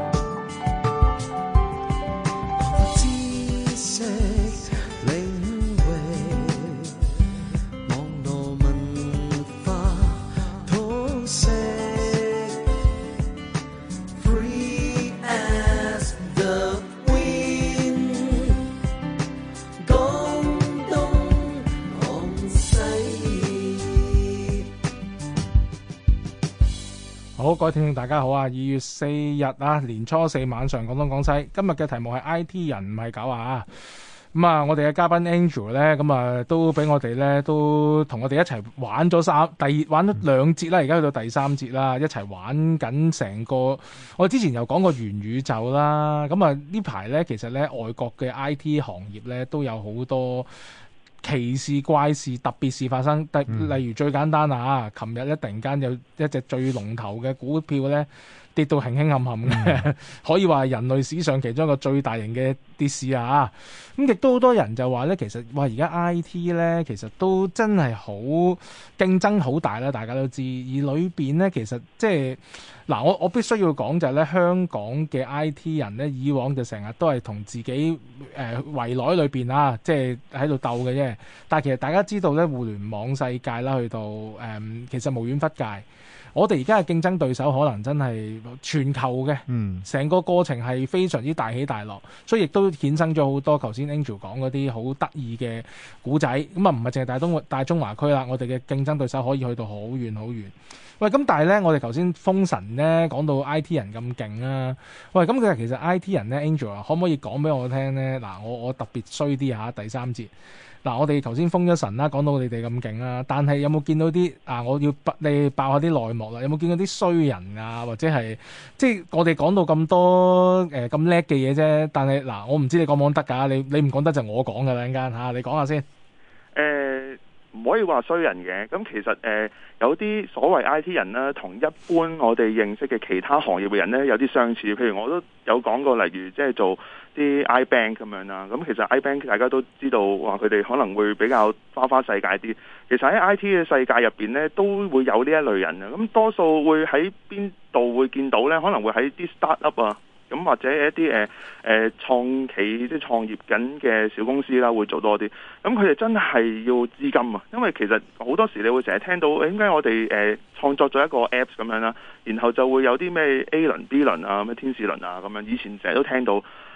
好，各位聽眾大家好啊！二月四日啊，年初四晚上廣東廣西，今日嘅題目係 I T 人唔係狗啊！咁啊，我哋嘅嘉賓 Angel 咧，咁啊都俾我哋咧都同我哋一齊玩咗三第二玩咗兩節啦，而家去到第三節啦，一齊玩緊成個。我之前又講過元宇宙啦，咁啊呢排咧其實咧外國嘅 I T 行業咧都有好多奇事怪事特別事發生，例如最簡單啊，琴日咧突然間有一隻最龍頭嘅股票咧跌到輕輕冚冚嘅，嗯、可以話係人類史上其中一個最大型嘅跌市啊！咁亦都好多人就話咧，其實哇而家 I T 咧其實都真係好競爭好大啦，大家都知。而裏邊咧其實即係嗱，我我必須要講就係咧，香港嘅 I T 人咧，以往就成日都係同自己誒圍內裏邊啊，即係喺度鬥嘅啫。但係其實大家知道咧，互聯網世界啦，去到誒、嗯、其實無遠弗屆。我哋而家嘅競爭對手可能真係全球嘅，成、嗯、個過程係非常之大起大落，所以亦都衍生咗好多頭先 Angel 講嗰啲好得意嘅古仔。咁啊，唔係淨係大東大中華區啦，我哋嘅競爭對手可以去到好遠好遠。喂，咁但係咧，我哋頭先封神咧講到 I T 人咁勁啊！喂，咁佢其實 I T 人咧 ，Angel 啊，可唔可以講俾我聽咧？嗱，我我特別衰啲嚇，第三節。嗱，我哋頭先封咗神啦，講到你哋咁勁啦，但係有冇見到啲啊？我要爆你爆下啲內幕啦，有冇見到啲衰人啊？或者係即係我哋講到咁多誒咁叻嘅嘢啫，但係嗱，我唔知你講唔講得㗎？你你唔講得就我講㗎啦，陣間嚇，你講下先。誒、 呃，唔可以話衰人嘅，咁其實誒、呃、有啲所謂 I T 人咧，同一般我哋認識嘅其他行業嘅人咧有啲相似。譬如我都有講過，例如即係做啲 iBank 咁樣啦，咁其實 iBank 大家都知道話佢哋可能會比較花花世界啲。其實喺 I T 嘅世界入邊咧，都會有呢一類人嘅。咁多數會喺邊度會見到咧？可能會喺啲 startup 啊，咁或者一啲誒誒創企即係創業緊嘅小公司啦，會做多啲。咁佢哋真係要資金啊，因為其實好多時你會成日聽到誒點解我哋誒、呃、創作咗一個 Apps 咁樣啦，然後就會有啲咩 A 輪 B 輪啊，咩天使輪啊咁樣，以前成日都聽到。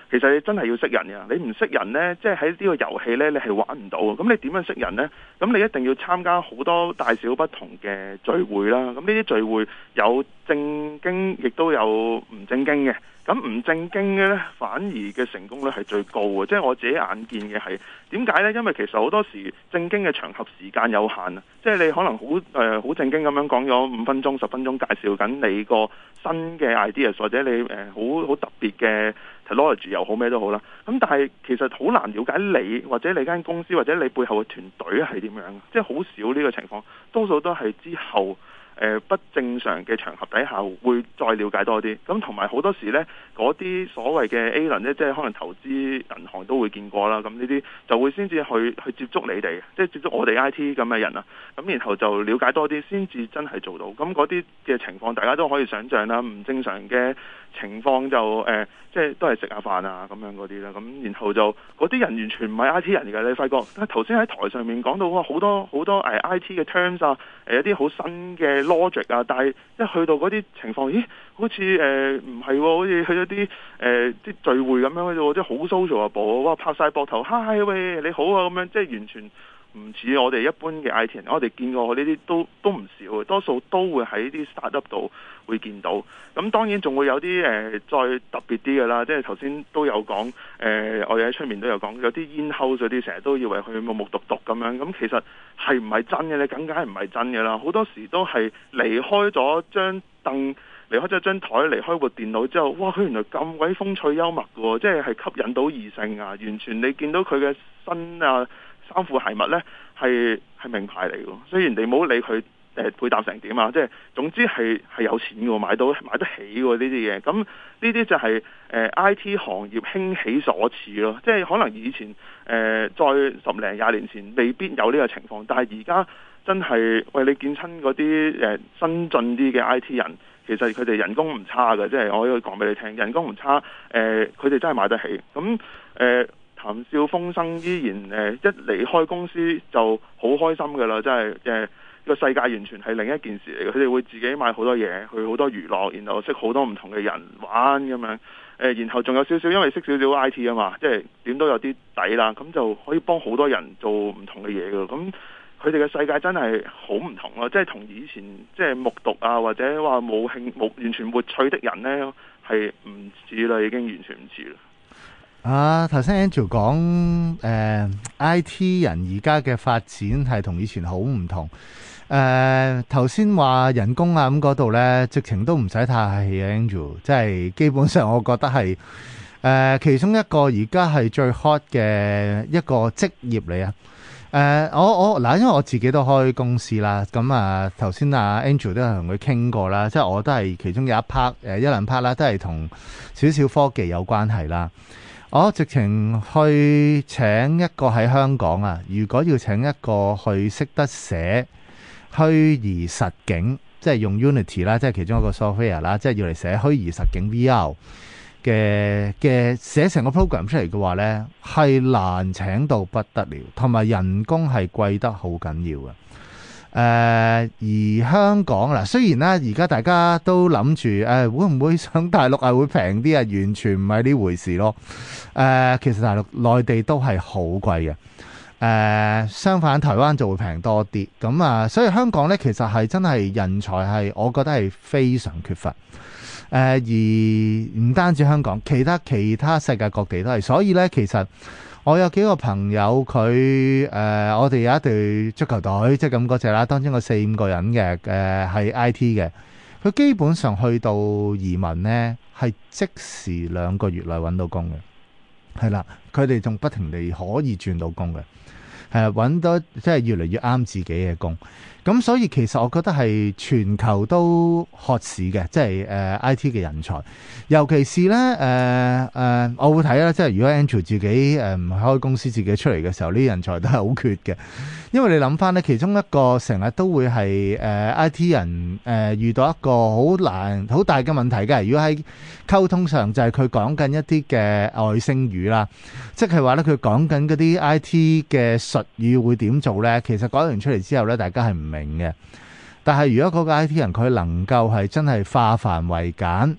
其實你真係要識人嘅，你唔識人呢，即係喺呢個遊戲呢，你係玩唔到。咁你點樣識人呢？咁你一定要參加好多大小不同嘅聚會啦。咁呢啲聚會有正經，亦都有唔正經嘅。咁唔正經嘅呢，反而嘅成功率係最高嘅。即係我自己眼見嘅係點解呢？因為其實好多時正經嘅場合時間有限啊。即係你可能好誒好正經咁樣講咗五分鐘、十分鐘介紹緊你個新嘅 ideas， 或者你誒好好特別嘅 technology 又好咩都好啦。咁但係其實好難了解你或者你間公司或者你背後嘅團隊係點樣，即係好少呢個情況，多數都係之後。誒、呃、不正常嘅場合底下會再了解多啲，咁同埋好多時呢，嗰啲所謂嘅 A 輪呢，即係可能投資銀行都會見過啦，咁呢啲就會先至去去接觸你哋，即係接觸我哋 I T 咁嘅人啊，咁然後就了解多啲，先至真係做到。咁嗰啲嘅情況大家都可以想像啦，唔正常嘅情況就誒、呃，即係都係食下飯啊咁樣嗰啲啦，咁然後就嗰啲人完全唔係 I T 人嚟嘅，你發覺頭先喺台上面講到哇好多好多誒 I T 嘅 terms 啊，誒一啲好新嘅 logic 啊，但係一去到嗰啲情況，咦，好似誒唔係喎，好似去咗啲誒啲聚會咁樣啫，即係好 social 啊，部哇拍晒膊頭，嗨喂你好啊咁樣，即係完全唔似我哋一般嘅 I T 人，我哋見過呢啲都都唔少，多數都會喺啲 startup 度會見到。咁當然仲會有啲誒、呃、再特別啲嘅啦，即係頭先都有講誒、呃，我哋喺出面都有講，有啲 in-house 嗰啲成日都以為佢木木獨獨咁樣，咁其實係唔係真嘅咧？梗梗係唔係真嘅啦，好多時都係離開咗張凳，離開咗張台，離開部電腦之後，哇！佢原來咁鬼風趣幽默嘅喎，即係係吸引到異性啊！完全你見到佢嘅身啊〜衫褲鞋襪呢係係名牌嚟嘅，雖然你唔好理佢誒配搭成點啊，即係總之係係有錢嘅，買到買得起嘅呢啲嘢。咁呢啲就係、是、誒、呃、I T 行業興起所賜咯，即係可能以前誒、呃、再十零廿年前未必有呢個情況，但係而家真係喂你見親嗰啲誒新進啲嘅 I T 人，其實佢哋人工唔差嘅，即係我可以講俾你聽，人工唔差，誒佢哋真係買得起。咁誒。呃談笑風生，依然誒、呃、一離開公司就好開心㗎啦！真係誒個世界完全係另一件事嚟嘅。佢哋會自己買好多嘢，去好多娛樂，然後識好多唔同嘅人玩咁樣。誒、呃，然後仲有少少，因為識少少 I T 啊嘛，即係點都有啲底啦，咁就可以幫好多人做唔同嘅嘢㗎。咁佢哋嘅世界真係好唔同咯，即係同以前即係目睹啊，或者話冇興冇完全沒趣的人呢，係唔似啦，已經完全唔似啦。 啊，頭先 Andrew 講誒 I T 人而家嘅發展係同以前好唔同。誒頭先話人工啊咁嗰度呢，直情都唔使太客氣啊 Andrew，即係基本上我覺得係誒、呃、其中一個而家係最 hot 嘅一個職業嚟啊！誒、呃、我我嗱，因為我自己都開公司啦，咁啊頭先啊 Andrew 都係同佢傾過啦，即係我都係其中有一 part 誒一兩 part 啦，都係同少少科技有關係啦。我直情去請一個喺香港啊，如果要請一個去識得寫虛擬實境，即係用 Unity 啦，即係其中一個 software 啦，即係要嚟寫虛擬實境 V R 嘅嘅寫成個 program 出嚟嘅話呢，係難請到不得了，同埋人工係貴得好緊要嘅。誒、呃、而香港嗱，雖然咧而家大家都諗住誒會唔會上大陸係會平啲啊？完全唔係呢回事咯。誒、呃、其實大陸內地都係好貴嘅。誒、呃、相反台灣就會平多啲。咁啊，所以香港咧其實係真係人才係，我覺得係非常缺乏。誒、呃、而唔單止香港，其他其他世界各地都係。所以咧，其實我有幾個朋友，佢誒、呃，我哋有一隊足球隊，即係咁嗰隻啦。當中有四五個人嘅，誒、呃、係 I T 嘅。佢基本上去到移民呢，係即時兩個月內揾到工嘅，係啦。佢哋仲不停地可以轉到工嘅，係揾到即係越嚟越啱自己嘅工。咁所以其實我覺得係全球都渴市嘅，即係誒、呃、I T 嘅人才，尤其是咧誒誒，我會睇啦，即係如果 Andrew 自己誒唔、呃、開公司自己出嚟嘅時候，呢啲人才都係好缺嘅。因為你諗翻咧，其中一個成日都會係誒、呃、I T 人誒、呃、遇到一個好難好大嘅問題嘅。如果喺溝通上就係佢講緊一啲嘅外星語啦，即係話咧佢講緊嗰啲 I T 嘅術語會點做咧，其實講完出嚟之後咧，大家係唔明嘅。但係如果嗰個 I T 人佢能夠係真係化繁為簡，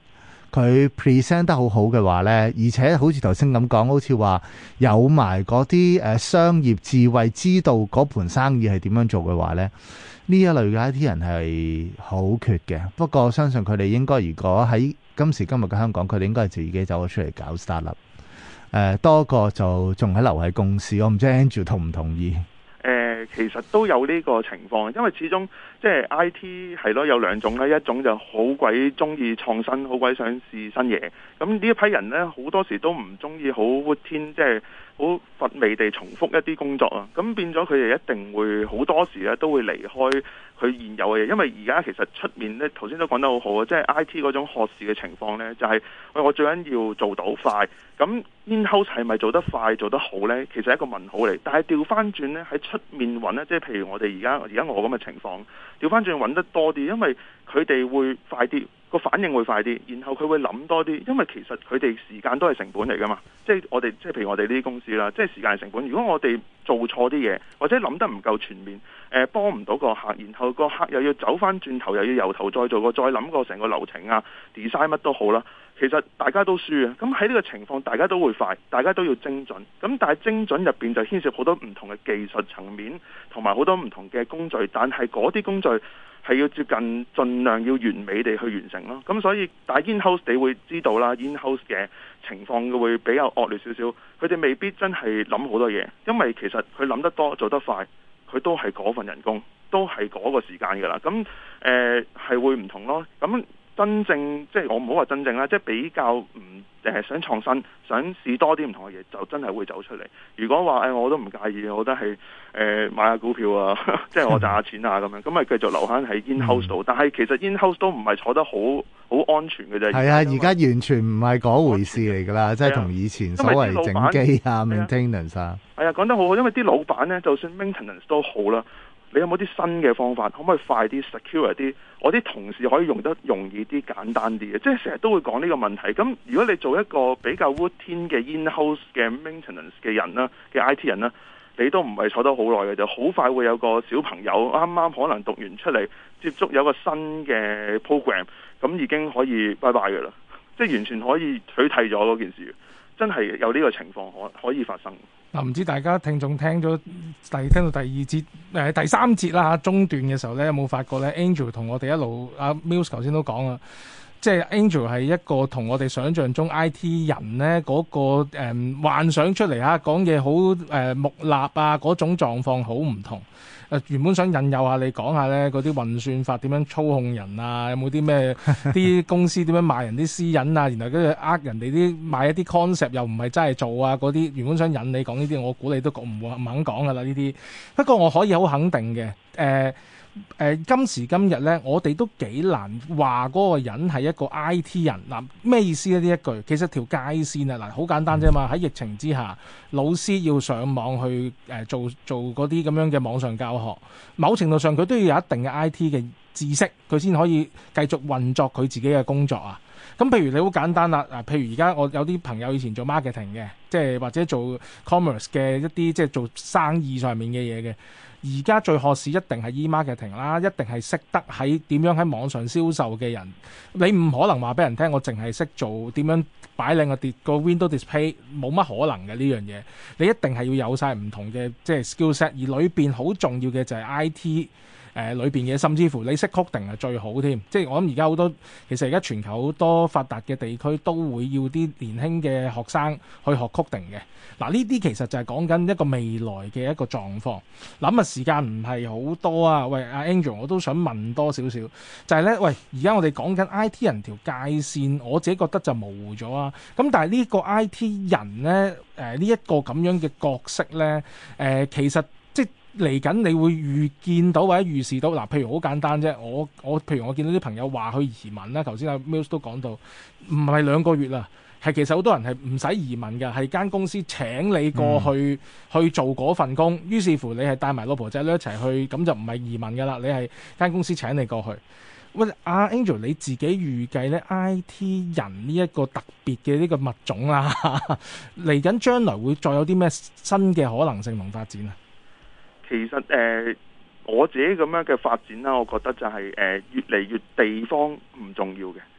佢 present 得好好嘅話呢，而且好似頭先咁講，好似話有埋嗰啲誒商業智慧，知道嗰盤生意係點樣做嘅話呢，呢一類嘅 I T 人係好缺嘅。不過我相信佢哋應該，如果喺今時今日嘅香港，佢哋應該係自己走咗出嚟搞 startup。誒多過就仲喺留喺公司。我唔知 Andrew 同唔同意？ 誒，其實都有呢個情況，因為始終即係 I T 係咯，有兩種啦，一種就好鬼中意創新，好鬼想試新嘢。咁呢一批人呢，好多時都唔中意好 routine，即係好乏味地重複一啲工作啊。咁變咗佢哋一定會好多時咧都會離開佢現有嘅嘢，因為而家其實出面呢，頭先都講得好好啊，即係 I T 嗰種學士嘅情況呢，就係喂，我最緊要做到快。咁 in-house 係咪做得快做得好呢？其實係一個問號嚟。但係調翻轉呢，喺出面揾呢，即係譬如我哋而家而家我咁嘅情況，調翻轉揾得多啲，因為佢哋會快啲，個反應會快啲，然後佢會諗多啲，因為其實佢哋時間都係成本嚟㗎嘛。即係我哋即係譬如我哋呢啲公司啦，即係時間係成本。如果我哋做錯啲嘢，或者諗得唔夠全面，誒幫唔到個客，然後個客又要走翻轉頭，又要由頭再做過，再諗過成個流程啊 design 乜都好啦。其實大家都輸啊！咁喺呢個情況，大家都會快，大家都要精準。咁但係精準入邊就牽涉好多唔同嘅技術層面，同埋好多唔同嘅工序。但係嗰啲工序係要接近盡量要完美地去完成咯。咁所以，但係 in-house 你會知道啦 ，in-house 嘅情況會比較惡劣少少。佢哋未必真係諗好多嘢，因為其實佢諗得多做得快，佢都係嗰份人工，都係嗰個時間㗎啦。咁誒係會唔同咯。咁真正即係我唔好話真正啦，即係比較唔誒想創新，想試多啲唔同嘅嘢，就真係會走出嚟。如果話誒、哎、我都唔介意，我覺得係誒、呃、買下股票啊，即係我賺下錢啊咁樣，咁咪繼續留翻喺 in-house 度。嗯、但係其實 in-house 都唔係坐得好好安全嘅啫。係啊， 而家完全唔係嗰回事嚟㗎啦，即係同以前所謂整機啊、maintenance 啊。係啊，講得好好，因為啲老闆咧，就算 maintenance 都好啦。你有冇啲新嘅方法？可唔可以快啲、secure 啲？我啲同事可以用得容易啲、簡單啲嘅，即係成日都會講呢個問題。咁如果你做一個比較 routine 嘅 in-house 嘅 maintenance 嘅人啦，嘅 I T 人啦，你都唔係坐得好耐嘅，就好快會有個小朋友啱啱可能讀完出嚟，接觸有個新嘅 program， 咁已經可以拜拜㗎啦，即係完全可以取締咗嗰件事。真係有呢個情況可可以發生。 嗱，唔知大家聽眾聽咗第聽到第二節誒、呃、第三節啦嚇中段嘅時候咧，有冇發覺咧 Angel 同我哋一路阿 Mills 頭先都講啦，即係 Angel 係一個同我哋想象中 I T 人咧嗰、那個、呃、幻想出嚟嚇講嘢好誒木訥啊嗰種狀況好唔同。誒、呃、原本想引誘下你講下咧嗰啲運算法點樣操控人啊，有冇啲咩啲公司點樣賣人啲私隱啊，然後跟住呃人哋啲賣一啲 concept 又唔係真係做啊嗰啲，原本想引你講呢啲，我估你都唔唔肯講噶啦呢啲。不過我可以好肯定嘅，誒、呃。誒、呃、今時今日咧，我哋都幾難話嗰個人係一個 I T 人嗱，咩意思咧？呢一句其實條界線啊，嗱好簡單啫嘛。喺疫情之下，老師要上網去誒、呃、做做嗰啲咁樣嘅網上教學，某程度上佢都要有一定嘅 I T 嘅知識，佢先可以繼續運作佢自己嘅工作啊。咁譬如你好簡單啦，嗱，譬如而家我有啲朋友以前做 marketing 嘅，即係或者做 commerce 嘅一啲即係做生意上面嘅嘢嘅。而家最學士一定係 e-marketing 啦，一定係識得喺點樣喺網上銷售嘅人。你唔可能話俾人聽，我淨係識做點樣擺靚個碟個 window display，冇乜可能嘅呢樣嘢。你一定係要有晒唔同嘅即係 skill set，而裏邊好重要嘅就係 I T。誒裏邊嘅，甚至乎你識 coding係最好添，即係我諗而家好多，其實而家全球好多發達嘅地區都會要啲年輕嘅學生去學 coding 嘅。嗱呢啲其實就係講緊一個未來嘅一個狀況。諗啊時間唔係好多啊，喂阿 Angel 我都想問多少少，就係咧，喂而家我哋講緊 I T 人條界線，我自己覺得就模糊咗啊。咁但係呢個 I T 人咧，誒呢一個咁樣嘅角色咧，誒、呃、其實。嚟緊你會預見到或者預示到嗱，譬如好簡單啫，我我譬如我見到啲朋友話去移民啦，頭先阿 Mills 都講到，唔係兩個月啦，係其實好多人係唔使移民嘅，係間公司請你過去、嗯、去做嗰份工，於是乎你係帶埋老婆仔女一齊去，咁就唔係移民噶啦，你係間公司請你過去。喂，阿 Angel 你自己預計咧 I T 人呢一個特別嘅呢個物種啦，嚟緊將來會再有啲咩新嘅可能性同發展啊？ 其實誒、呃，我自己咁樣嘅發展啦，我覺得就係、是、誒、呃、越嚟越地方唔重要嘅，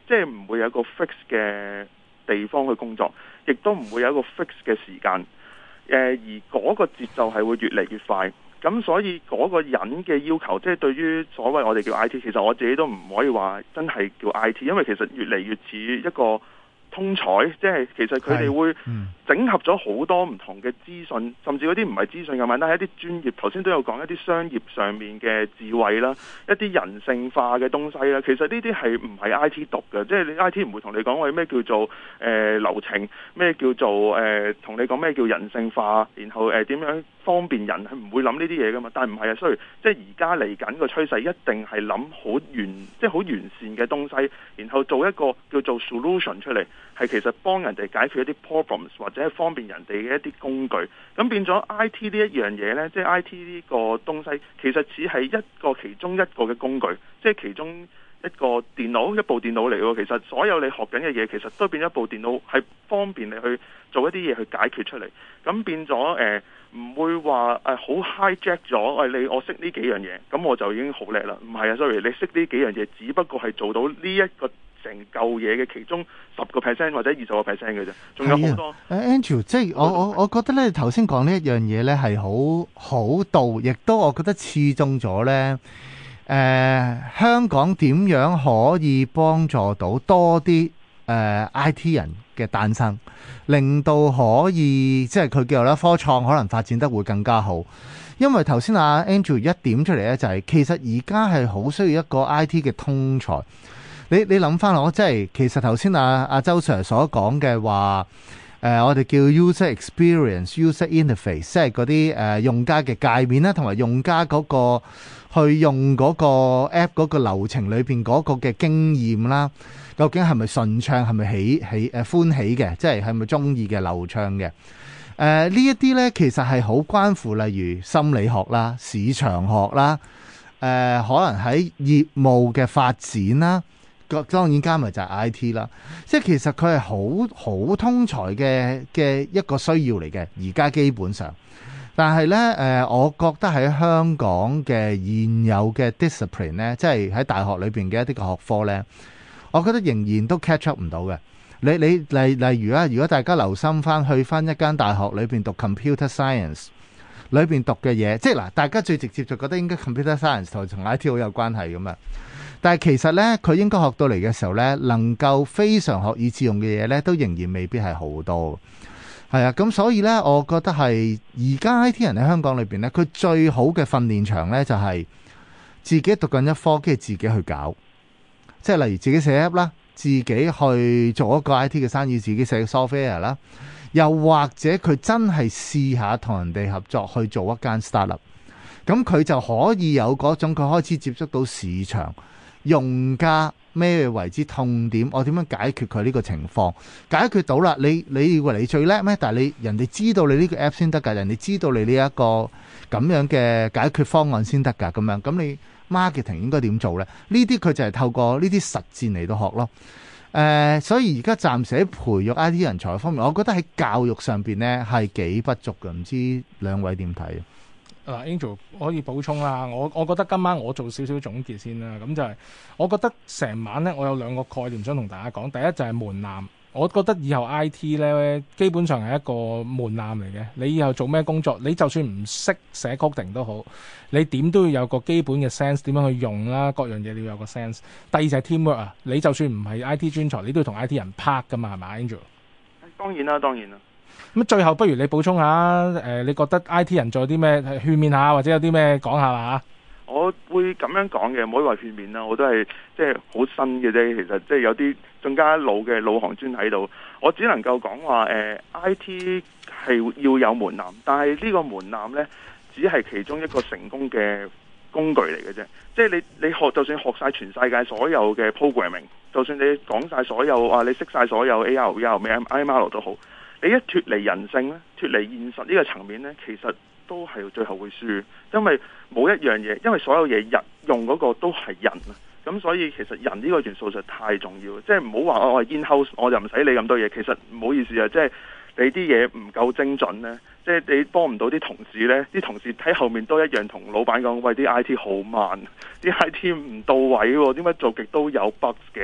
即係唔會有一個 fix 嘅地方去工作，亦都唔會有一個 fix 嘅時間。誒、呃，而嗰個節奏係會越嚟越快。咁所以嗰個人嘅要求，即係對於所謂我哋叫 I T， 其實我自己都唔可以話真係叫 I T， 因為其實越嚟越似一個通才，即係其實佢哋會整合咗好多唔同嘅資訊，甚至嗰啲唔係資訊咁簡單，係一啲專業。頭先都有講一啲商業上面嘅智慧啦，一啲人性化嘅東西啦。其實呢啲係唔係 I T 讀嘅，即係你 I T 唔會同你講話咩叫做誒、呃、流程，咩叫做誒同、呃、你講咩叫人性化，然後誒點、呃、樣方便人，係唔會諗呢啲嘢噶嘛。但係唔係啊，所以即係而家嚟緊個趨勢一定係諗好完，即係好完善嘅東西，然後做一個叫做 solution 出嚟。係其實幫人哋解決一啲 problems 或者係方便人哋嘅一啲工具，咁變咗 I T 呢一樣嘢呢，即係 I T 呢個東西，其實只係一個其中一個嘅工具，即係其中一個電腦，一部電腦嚟喎。其實所有你學緊嘅嘢，其實都變咗一部電腦，係方便你去做一啲嘢去解決出嚟。咁變咗誒，唔會話誒好 hijack 咗，誒你我識呢幾樣嘢，咁我就已經好叻啦。唔係啊 ，sorry，你識呢幾樣嘢，只不過係做到呢一個成嚿嘢嘅其中十個 percent 或者二十個 percent 嘅啫，仲有好多。 誒 Andrew， 即係我我我覺得咧，頭先講呢一樣嘢咧係好好到，亦都我覺得刺中咗咧。誒、呃，香港點樣可以幫助到多啲誒、呃、I T 人嘅誕生，令到可以即係佢叫做咧科創可能發展得會更加好。因為頭先阿 Andrew 一點出嚟咧，就係、是、其實而家係好需要一個 I T 嘅通才。你你諗翻我，即係其實頭先阿阿周 Sir 所講嘅話，誒、呃、我哋叫 user experience、user interface，即係嗰啲誒用家嘅界面啦，同埋用家嗰個去用嗰個 app 嗰個流程裏邊嗰個嘅經驗啦，究竟係咪順暢，係咪喜喜誒歡喜嘅，即係係咪中意嘅流暢嘅？誒、呃、呢一啲咧，其實係好關乎，例如心理學啦、市場學啦，誒、呃、可能喺業務嘅發展啦。當然加埋就係 I T 啦，即係其實佢係好好通才嘅嘅一個需要嚟嘅，而家基本上。但係呢，誒、呃，我覺得喺香港嘅現有嘅 discipline 呢，即係喺大學裏邊嘅一啲嘅學科呢，我覺得仍然都 catch up 唔到嘅。你你例例如啊，如果大家留心翻去翻一間大學裏邊讀 computer science 裏邊讀嘅嘢，即係嗱，大家最直接就覺得應該 computer science 同同 I T 好有關係咁啊。但係其實呢，佢應該學到嚟嘅時候呢，能夠非常學以致用嘅嘢呢，都仍然未必係好多。係啊，咁所以呢，我覺得係而家 I T 人喺香港裏邊呢，佢最好嘅訓練場呢，就係自己讀緊一科，跟住自己去搞。即係例如自己寫 app 啦，自己去做一個 I T 嘅生意，自己寫 software 啦，又或者佢真係試下同人哋合作去做一間 startup，咁佢就可以有嗰種佢開始接觸到市場。用家咩為之痛點？我點樣解決佢呢個情況？解決到啦，你你以為你最叻咩？但係你人哋知道你呢個 app 先得㗎，人哋知道你呢一個咁樣嘅解決方案先得㗎。咁樣咁你 marketing 應該點做呢？呢啲佢就係透過呢啲實戰嚟到學咯。誒、呃，所以而家暫時喺培育 I T 人才方面，我覺得喺教育上邊呢係幾不足嘅。唔知兩位點睇？ 嗱 Angel 可以補充啦，我我覺得今晚我做少少總結先啦，咁就係我覺得成晚呢，我有兩個概念想同大家講。第一就係門檻，我覺得以後 I T 呢，基本上係一個門檻嚟嘅。你以後做咩工作，你就算唔識寫 coding 都好，你點都要有個基本嘅 sense， 點樣去用啦，各樣嘢你要有個 sense。第二就係 teamwork 啊，你就算唔係 I T 專才，你都要同 I T 人拍噶嘛，係咪 Angel？ 當然啦，當然啦。 咁最後不如你補充下，誒、呃，你覺得 I T 人仲有啲咩勸勉下，或者有啲咩講下啦？ 我會咁樣講嘅，唔可以話勸勉啦，我都係即係好新嘅啫。其實即係有啲更加老嘅老行尊喺度，我只能夠講話誒 I T 係要有門檻，但係呢個門檻呢，只係其中一個成功嘅工具嚟嘅啫。即係你你學就算學晒全世界所有嘅 programming， 就算你講晒所有啊，你識晒所有 A R V R 咩 I M L 都好。你一脫離人性咧，脫離現實呢個層面咧，其實都係最後會輸，因為冇一樣嘢，因為所有嘢人用嗰個都係人啊，咁所以其實人呢個元素就太重要，即係唔好話我係 in-house，我就唔使理咁多嘢。其實唔好意思啊，即係你啲嘢唔夠精準咧，即係你幫唔到啲同事咧，啲同事喺後面都一樣同老闆講，喂，啲 I T 好慢，啲 I T 唔到位喎，點解做極都有 bugs 嘅？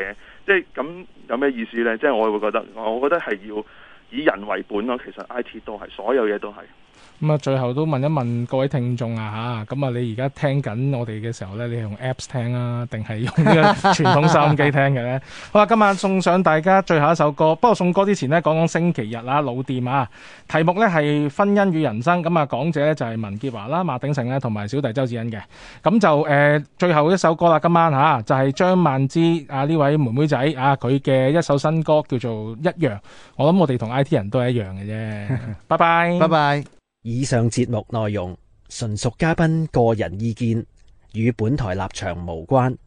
即係咁有咩意思呢？即係我會覺得，我覺得係要以人為本咯。其實 I T 都係，所有嘢都係。 咁啊，最後都問一問各位聽眾啊嚇，咁啊，你而家聽緊我哋嘅時候咧，你係用 Apps 聽啊，定係用呢個傳統收音機聽嘅咧？好啦，今晚送上大家最後一首歌。不過送歌之前呢，講講星期日啊，老店啊，題目咧係婚姻與人生。咁啊，講者咧就係文潔華啦、馬鼎盛咧同埋小弟周子恩嘅。咁就誒、呃、最後一首歌啦，今晚嚇、啊、就係、是、張曼芝啊呢位妹妹仔啊，佢嘅一首新歌叫做《一樣》。我諗我哋同 I T 人都係一樣嘅啫。拜拜， 拜拜。 以上節目內容純屬嘉賓個人意見，與本台立場無關。